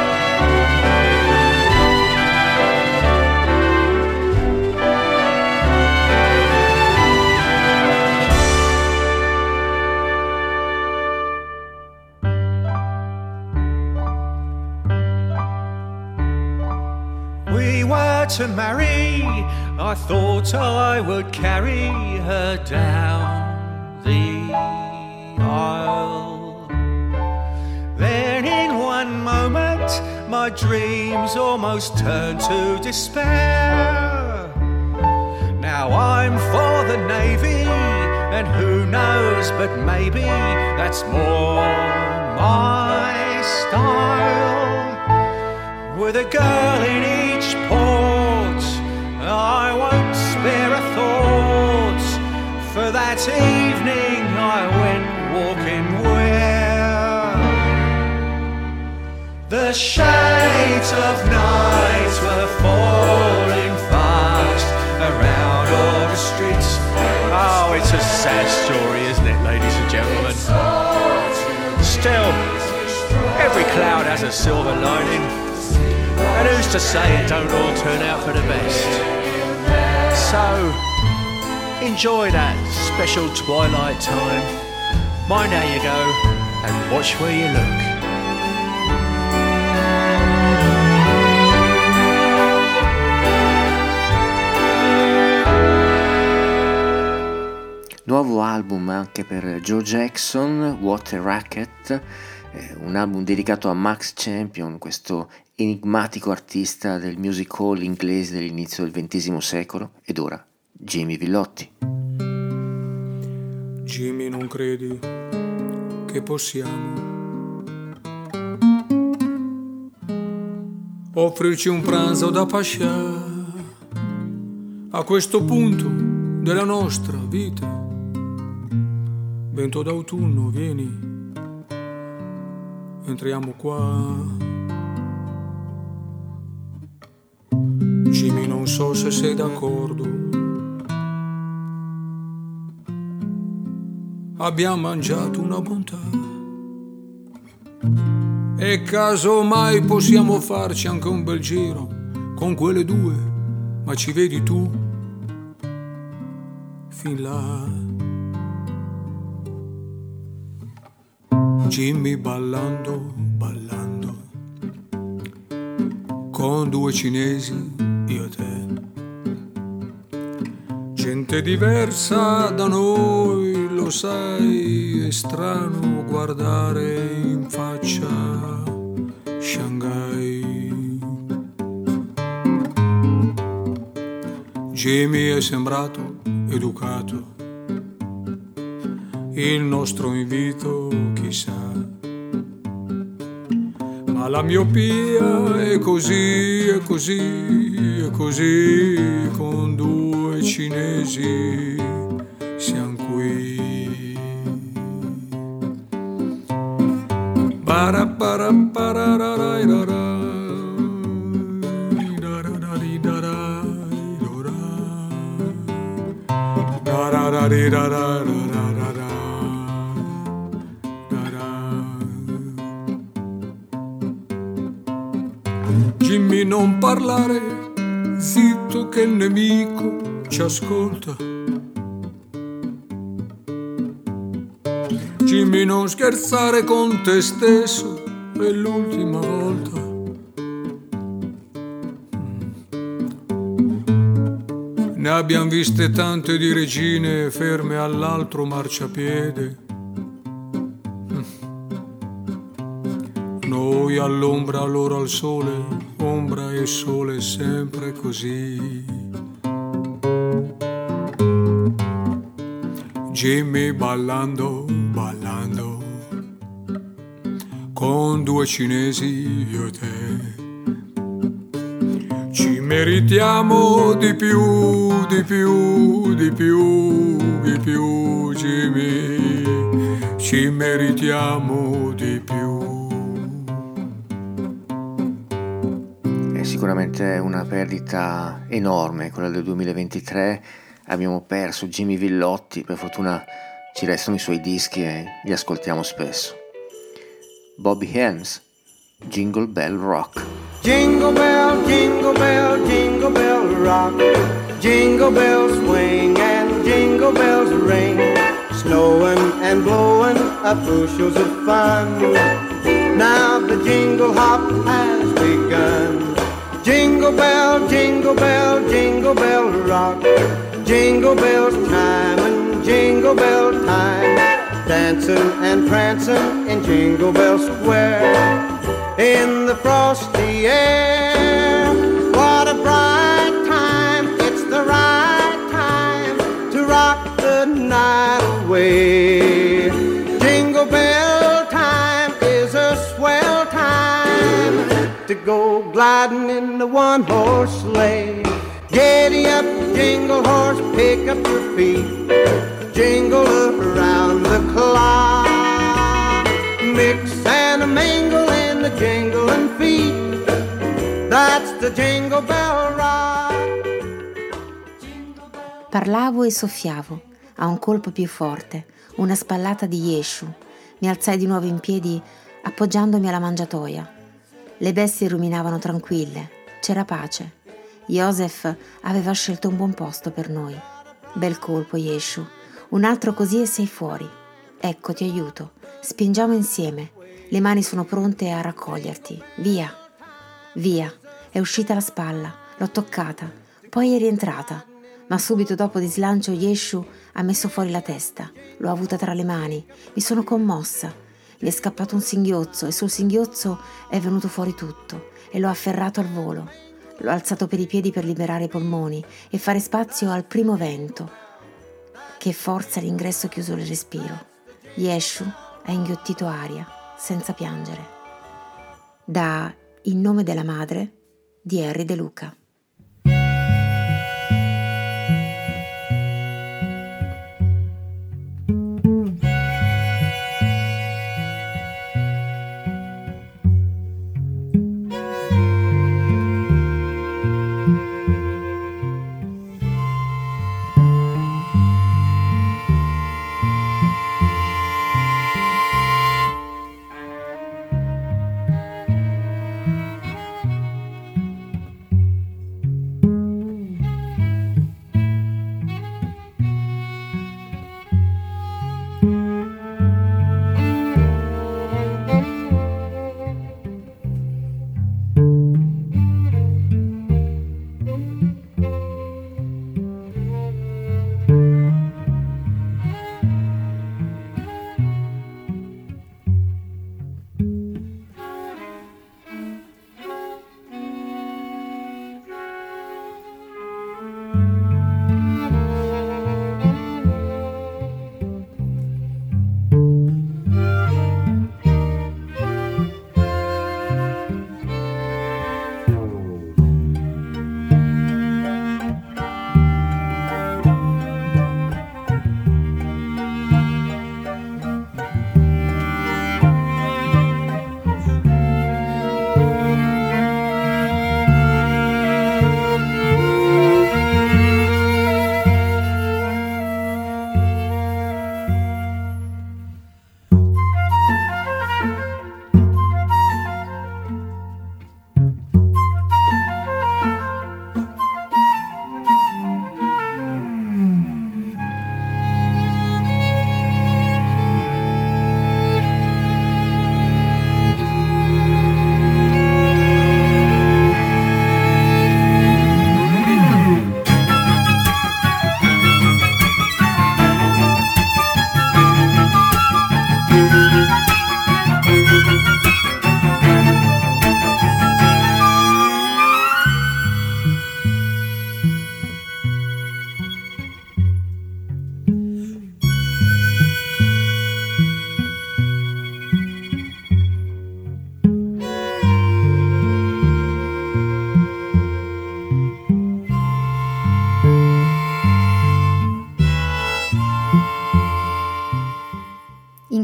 We were to marry, I thought I would carry her down the aisle. Then in one moment my dreams almost turned to despair. Now I'm for the Navy, and who knows, but maybe that's more my style. With a girl in each port, I won't spare a thought. For that evening I went walking where the shades of night were falling fast around all the streets. Oh, it's a sad story, isn't it, ladies and gentlemen? Still, every cloud has a silver lining. And who's to say it don't all turn out for the best? So, enjoy that special twilight time. Mind how you go and watch where you look. Nuovo album anche per Joe Jackson, What a Racket, eh, un album dedicato a Max Champion, questo enigmatico artista del music hall inglese dell'inizio del ventesimo secolo, ed ora Jimmy Villotti. Jimmy, non credi che possiamo offrirci un pranzo da pascià a questo punto della nostra vita? Vento d'autunno, vieni, entriamo qua. Jimmy, non so se sei d'accordo. Abbiamo mangiato una bontà e casomai possiamo farci anche un bel giro con quelle due, ma ci vedi tu fin là. Jimmy ballando, ballando con due cinesi, io e te. Gente diversa da noi, lo sai, è strano guardare in faccia Shanghai. Jimmy è sembrato educato, il nostro invito chissà, ma la miopia è così, è così, è così, con due cinesi siamo qui. Bara bara bara ra ra ra ra. Jimmy, non parlare, zitto che il nemico ci ascolta. Jimmy, non scherzare con te stesso, è l'ultima volta. Ne abbiamo viste tante di regine ferme all'altro marciapiede. Noi all'ombra, loro al sole, ombra e sole sempre così. Jimmy ballando, ballando, con due cinesi io e te. Ci meritiamo di più, di più, di più, di più, Jimmy, ci meritiamo di più. È sicuramente una perdita enorme quella del duemilaventitré. Abbiamo perso Jimmy Villotti, per fortuna ci restano i suoi dischi e li ascoltiamo spesso. Bobby Helms, Jingle Bell Rock. Jingle bell, jingle bell, jingle bell rock. Jingle bells swing and jingle bells ring. Snowing and blowing up bushels of fun. Now the jingle hop has begun. Jingle bell, jingle bell, jingle bell rock. Jingle bells time and jingle bell time. Dancing and prancing in Jingle Bell Square. In the frosty air, what a bright time. It's the right time to rock the night away. Jingle bell time is a swell time to go gliding in the one-horse sleigh. Giddy up, jingle horse, pick up your feet. Jingle around the clock. Mix and a mingle in the jingling feet. That's the Jingle Bell Rock. Parlavo e soffiavo, a un colpo più forte, una spallata di Yeshu. Mi alzai di nuovo in piedi, appoggiandomi alla mangiatoia. Le bestie ruminavano tranquille, c'era pace. Joseph aveva scelto un buon posto per noi. Bel colpo, Yeshu. Un altro così e sei fuori. Ecco, ti aiuto. Spingiamo insieme. Le mani sono pronte a raccoglierti. Via. Via. È uscita la spalla. L'ho toccata. Poi è rientrata. Ma subito dopo di slancio Yeshu ha messo fuori la testa. L'ho avuta tra le mani. Mi sono commossa. Mi è scappato un singhiozzo e sul singhiozzo è venuto fuori tutto. E l'ho afferrato al volo. L'ho alzato per i piedi per liberare i polmoni e fare spazio al primo vento. Che forza l'ingresso chiuso il respiro. Yeshu ha inghiottito aria, senza piangere. Da In nome della madre di Harry De Luca.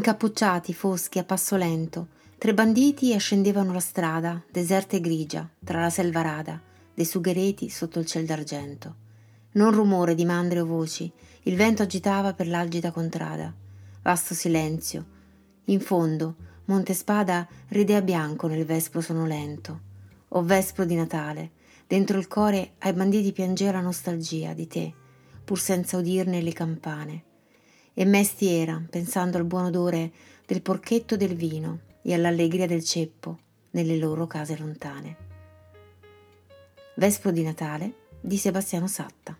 incappucciati, foschi, a passo lento, tre banditi ascendevano la strada, deserta e grigia, tra la selva rada, dei sughereti sotto il ciel d'argento. Non rumore di mandre o voci, il vento agitava per l'algida contrada. Vasto silenzio. In fondo, Montespada ridea bianco nel vespro sonolento. O vespro di Natale, dentro il cuore ai banditi piangeva la nostalgia di te, pur senza udirne le campane. E mesti era, pensando al buon odore del porchetto del vino e all'allegria del ceppo nelle loro case lontane. Vespro di Natale di Sebastiano Satta.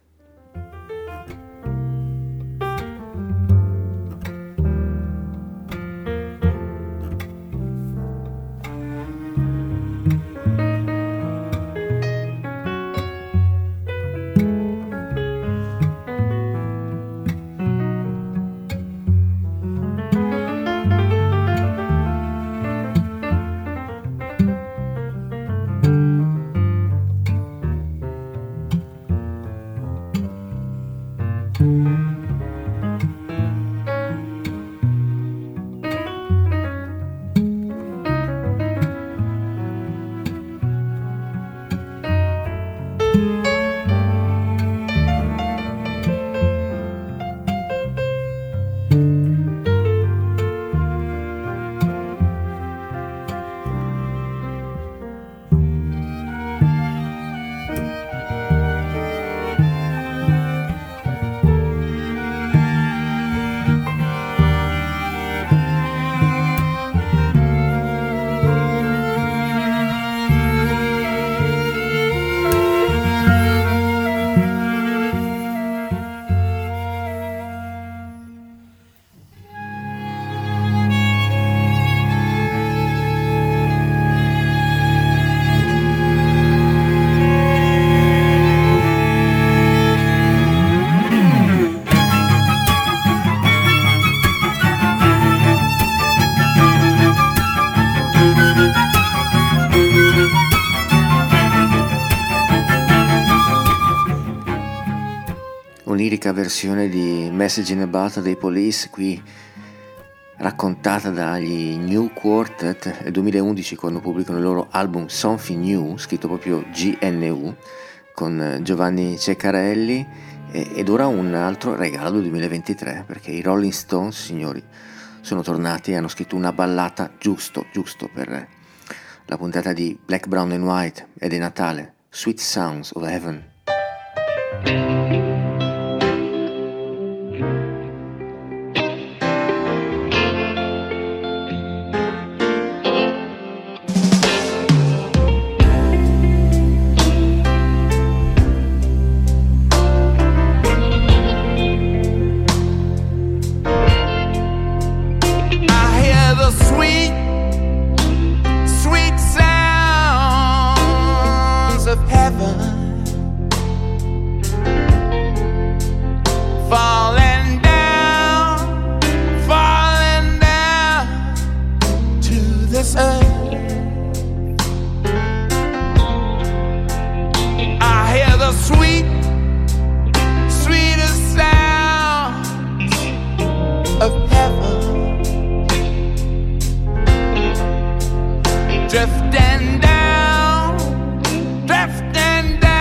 Un'irica versione di Message in a Bottle dei Police, qui raccontata dagli New Quartet nel duemilaundici, quando pubblicano il loro album Something New, scritto proprio G N U, con Giovanni Ceccarelli, ed ora un altro regalo del duemilaventitré, perché i Rolling Stones, signori, sono tornati e hanno scritto una ballata giusto, giusto per la puntata di Black, Brown and White ed è Natale, Sweet Sounds of Heaven. Drifting down, drifting down.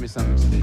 something, Steve.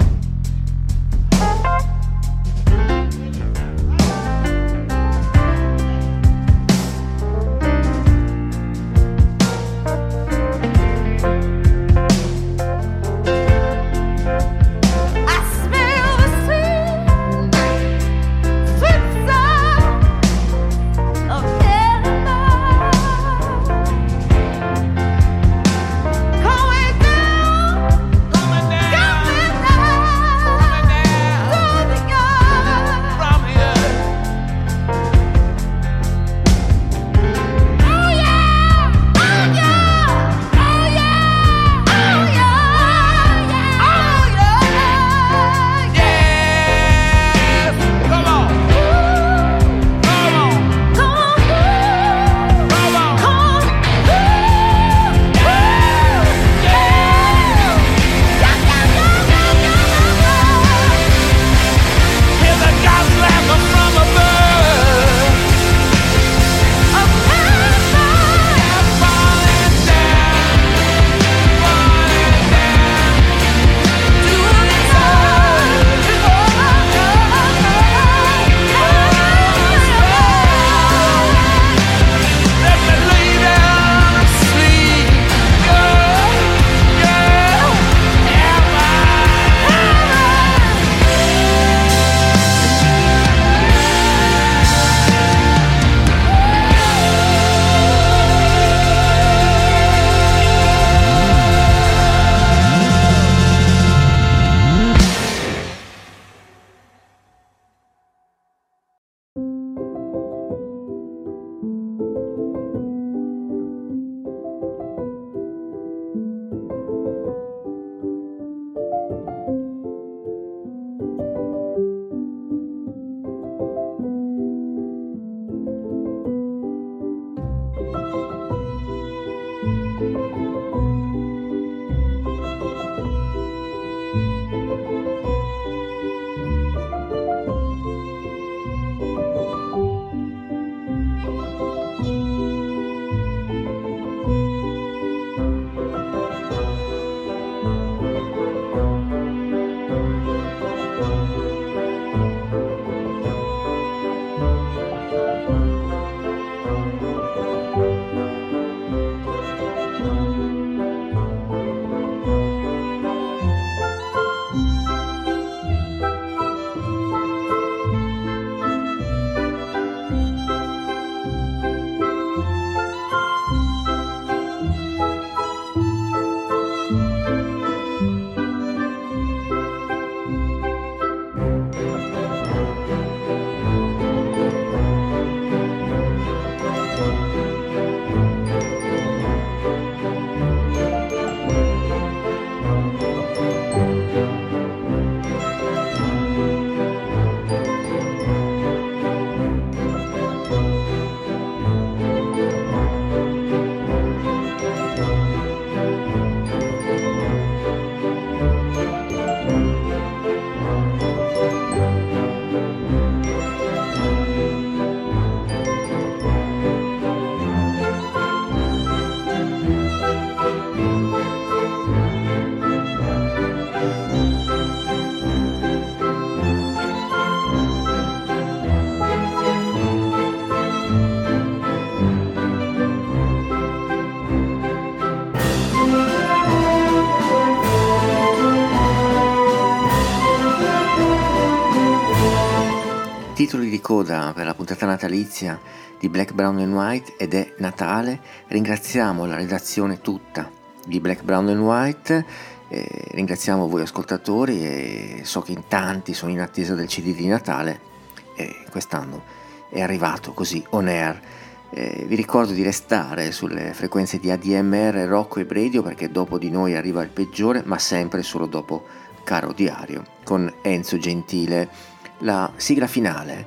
Titoli di coda per la puntata natalizia di Black, Brown and White ed è Natale. Ringraziamo la redazione tutta di Black, Brown and White, eh, ringraziamo voi ascoltatori e so che in tanti sono in attesa del C D di Natale e quest'anno è arrivato così on air. Eh, vi ricordo di restare sulle frequenze di A D M R, Rocco e Radio, perché dopo di noi arriva il peggiore, ma sempre solo dopo Caro Diario con Enzo Gentile. La sigla finale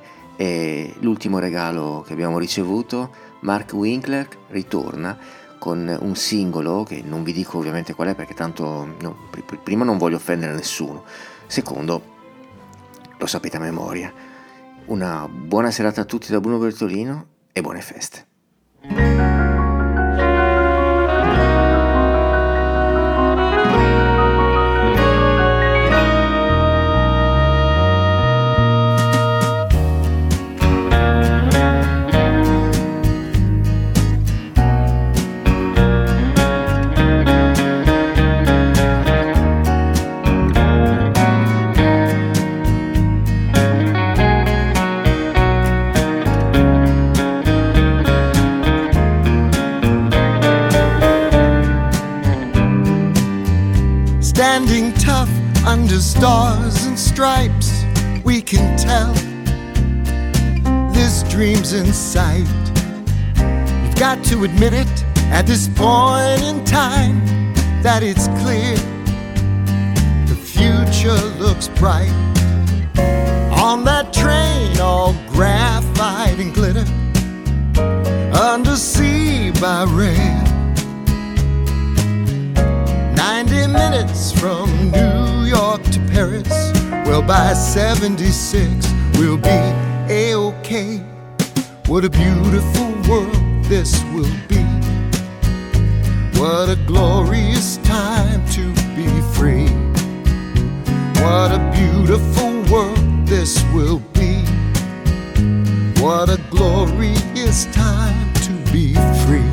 è l'ultimo regalo che abbiamo ricevuto. Mark Winkler ritorna con un singolo che non vi dico ovviamente qual è, perché tanto no, primo non voglio offendere nessuno, secondo lo sapete a memoria. Una buona serata a tutti da Bruno Bertolino e buone feste. standing tough under stars and stripes. We can tell this dream's in sight. You've got to admit it at this point in time that it's clear the future looks bright. On that train, all graphite and glitter, undersea by rail. Ninety minutes from New York to Paris. Well, by seventy-six, we'll be A-OK. What a beautiful world this will be. What a glorious time to be free. What a beautiful world this will be. What a glorious time to be free.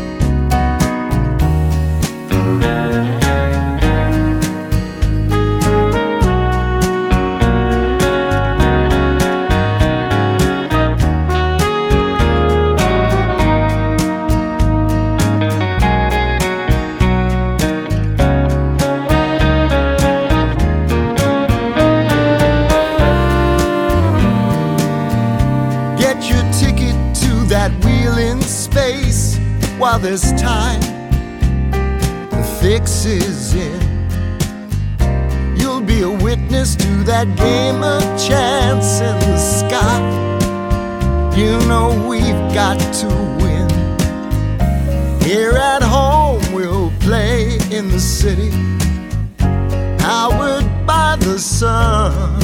While there's time, the fix is in. You'll be a witness to that game of chance in the sky. You know we've got to win. Here at home we'll play in the city, powered by the sun.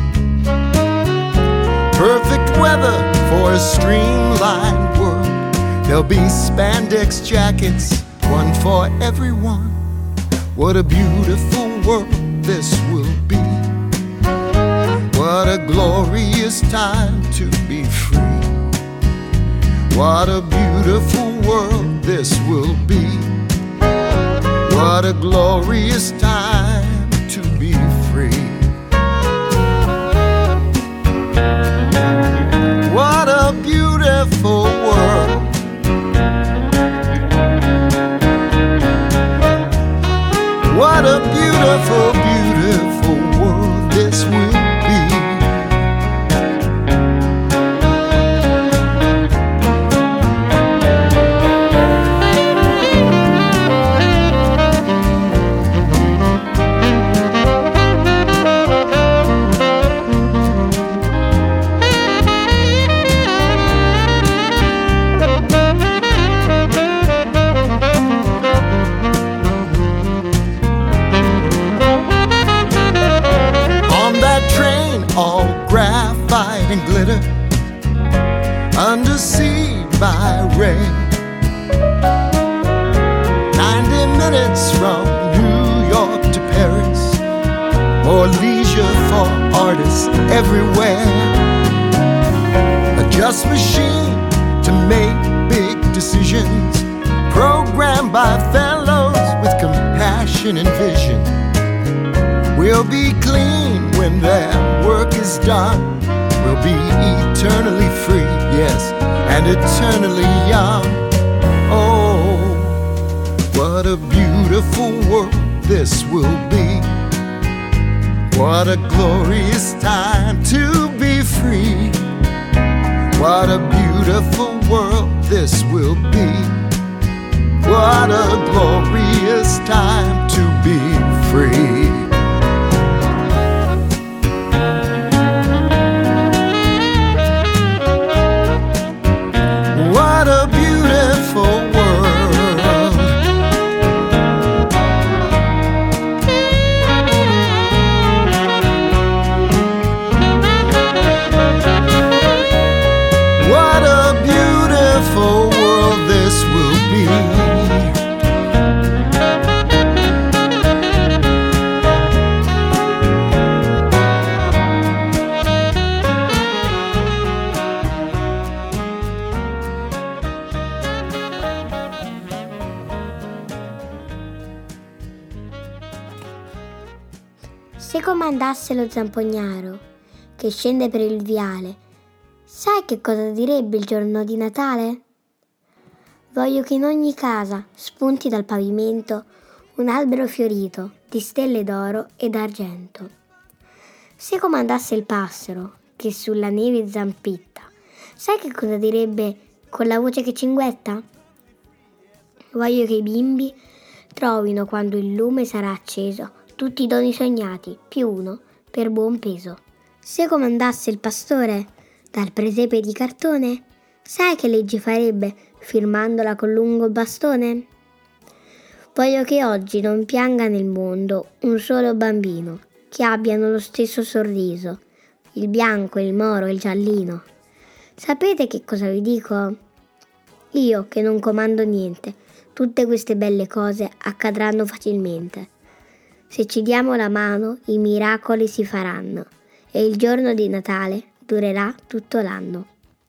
Perfect weather for a streamlined world. There'll be spandex jackets, one for everyone. What a beautiful world this will be. What a glorious time to be free. What a beautiful world this will be. What a glorious time to be free. What a beautiful world. What a beautiful, beautiful world this will be. And glitter, undersea by rail. Ninety minutes from New York to Paris. More leisure for artists everywhere. A just machine to make big decisions, programmed by fellows with compassion and vision. We'll be clean when their work is done. We'll be eternally free, yes, and eternally young. Oh, what a beautiful world this will be. What a glorious time to be free. What a beautiful world this will be. What a glorious time to be free. What a beautiful world. What a beautiful world this will be. Se comandasse lo zampognaro che scende per il viale, sai che cosa direbbe il giorno di Natale? Voglio che in ogni casa spunti dal pavimento un albero fiorito di stelle d'oro e d'argento. Se comandasse il passero che sulla neve zampitta, sai che cosa direbbe con la voce che cinguetta? Voglio che i bimbi trovino quando il lume sarà acceso tutti i doni sognati, più uno per buon peso. Se comandasse il pastore dal presepe di cartone, sai che legge farebbe firmandola col lungo bastone? Voglio che oggi non pianga nel mondo un solo bambino, che abbiano lo stesso sorriso, il bianco, il moro e il giallino. Sapete che cosa vi dico? Io che non comando niente, tutte queste belle cose accadranno facilmente. Se ci diamo la mano, i miracoli si faranno e il giorno di Natale durerà tutto l'anno.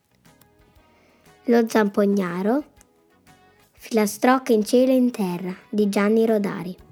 Lo zampognaro, filastrocche in cielo e in terra di Gianni Rodari.